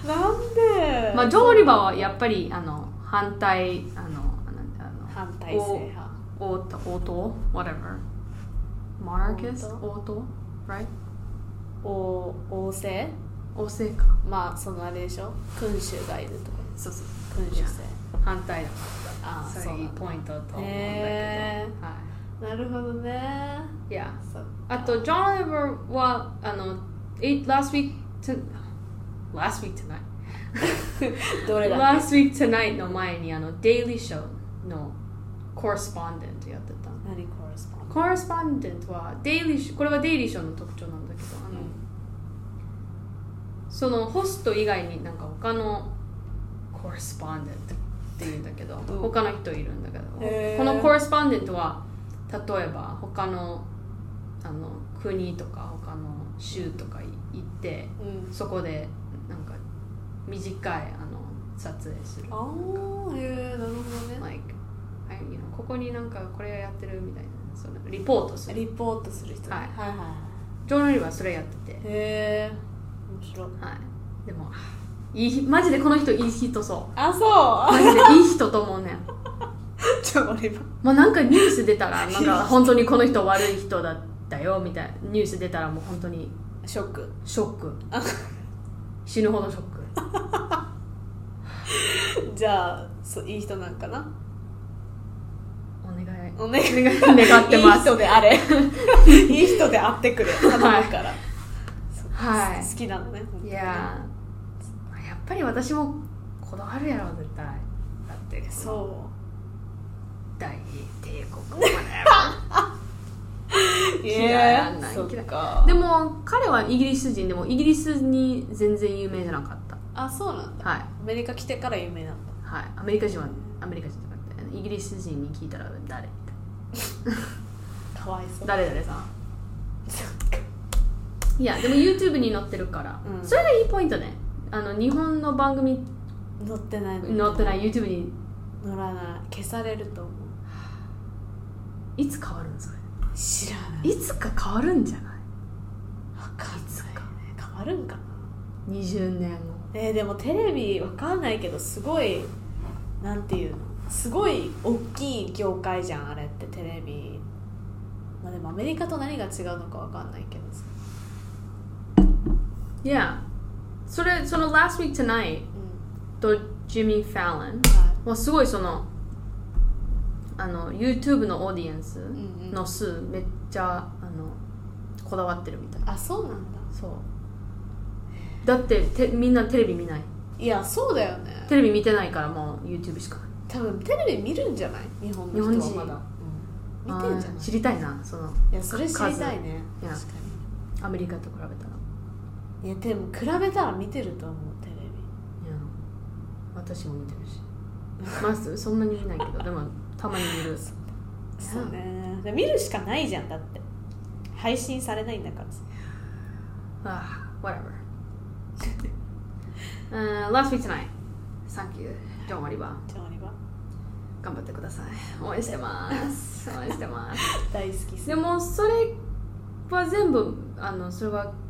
なんで？ まあジョン・オリバーはやっぱり反対反対性派。 王党 whatever monarchist 王党 right 王政か。 まああれでしょ。君主がいるとか。 そう君主制反対だ。それいいポイントと思うんだけど。はい。 なるほどね。 いや。あとジョン・オリバーはlast week tonight どれだっけ？ Last Week Tonight の前にデイリーショーのコレスポンデントやってた。 何コレスポンデントはこれはデイリーショーの特徴なんだけど、そのホスト以外になんか他のコレスポンデントっていうんだけど、他の人いるんだけど、このコレスポンデントは例えば他の国とか他の州とか行って、そこでなんか短い撮影する。 なるほどね。 ここになんかこれやってるみたいな、そのリポートする人。はいはいはい。ジョン・オリバーそれやってて。 面白い。 はい。でもマジでこの人いい人そう。 そう。 マジでいい人と思うねん。 ジョン・オリバー。 もうなんかニュース出たらなんか本当にこの人悪い人だったよみたいなニュース出たらもう本当にショック。 死ぬほどショック。 じゃあいい人なんかな。 お願いってます。 いい人であれ。いい人であってくれ。頼むから。はい。好きなのね。 いややっぱり私もこだわるやろ絶対。だって大英帝国嫌い。そっか。でも彼はイギリス人でもイギリスに全然有名じゃなかった。 そうなんだ。 はい。 アメリカ来てから有名なんだ。 はい。アメリカ人じゃなくてイギリス人に聞いたら誰みたいな。 かわいそう。 誰々さん。いやでも YouTube に載ってるから、それがいいポイントね。日本の番組載ってない YouTube に載らない、消されると思う。 いつ変わるんですか？ 知らない。 いつか変わるんじゃない？ わかんないね。変わるんかな、 20年後。 でもテレビわかんないけど、すごいなんていうの、すごい大きい業界じゃんあれって、テレビ。まあでもアメリカと何が違うのかわかんないけどさ。 いや、その Last Week Tonight、とジミー・ファロンはすごいYouTube のオーディエンスの数めっちゃこだわってるみたい。 あ、そうなんだ。 そうだってみんなテレビ見ない。 いや、そうだよね。 テレビ見てないからもう YouTube しかない。 多分テレビ見るんじゃない？日本の人はまだ、見てんじゃない？ 知りたいな、 いや、それ知りたいね。確かにアメリカと比べたら。 いやでも比べたら見てると思う、テレビ。いや私も見てるしまずそんなに見ないけどでもたまに見る。 そうね、見るしかないじゃん、だって配信されないんだからさ。 whatever Last Week Tonight Thank you Don't worry about 頑張ってください。応援してます応援してます大好き。 でもそれは全部それは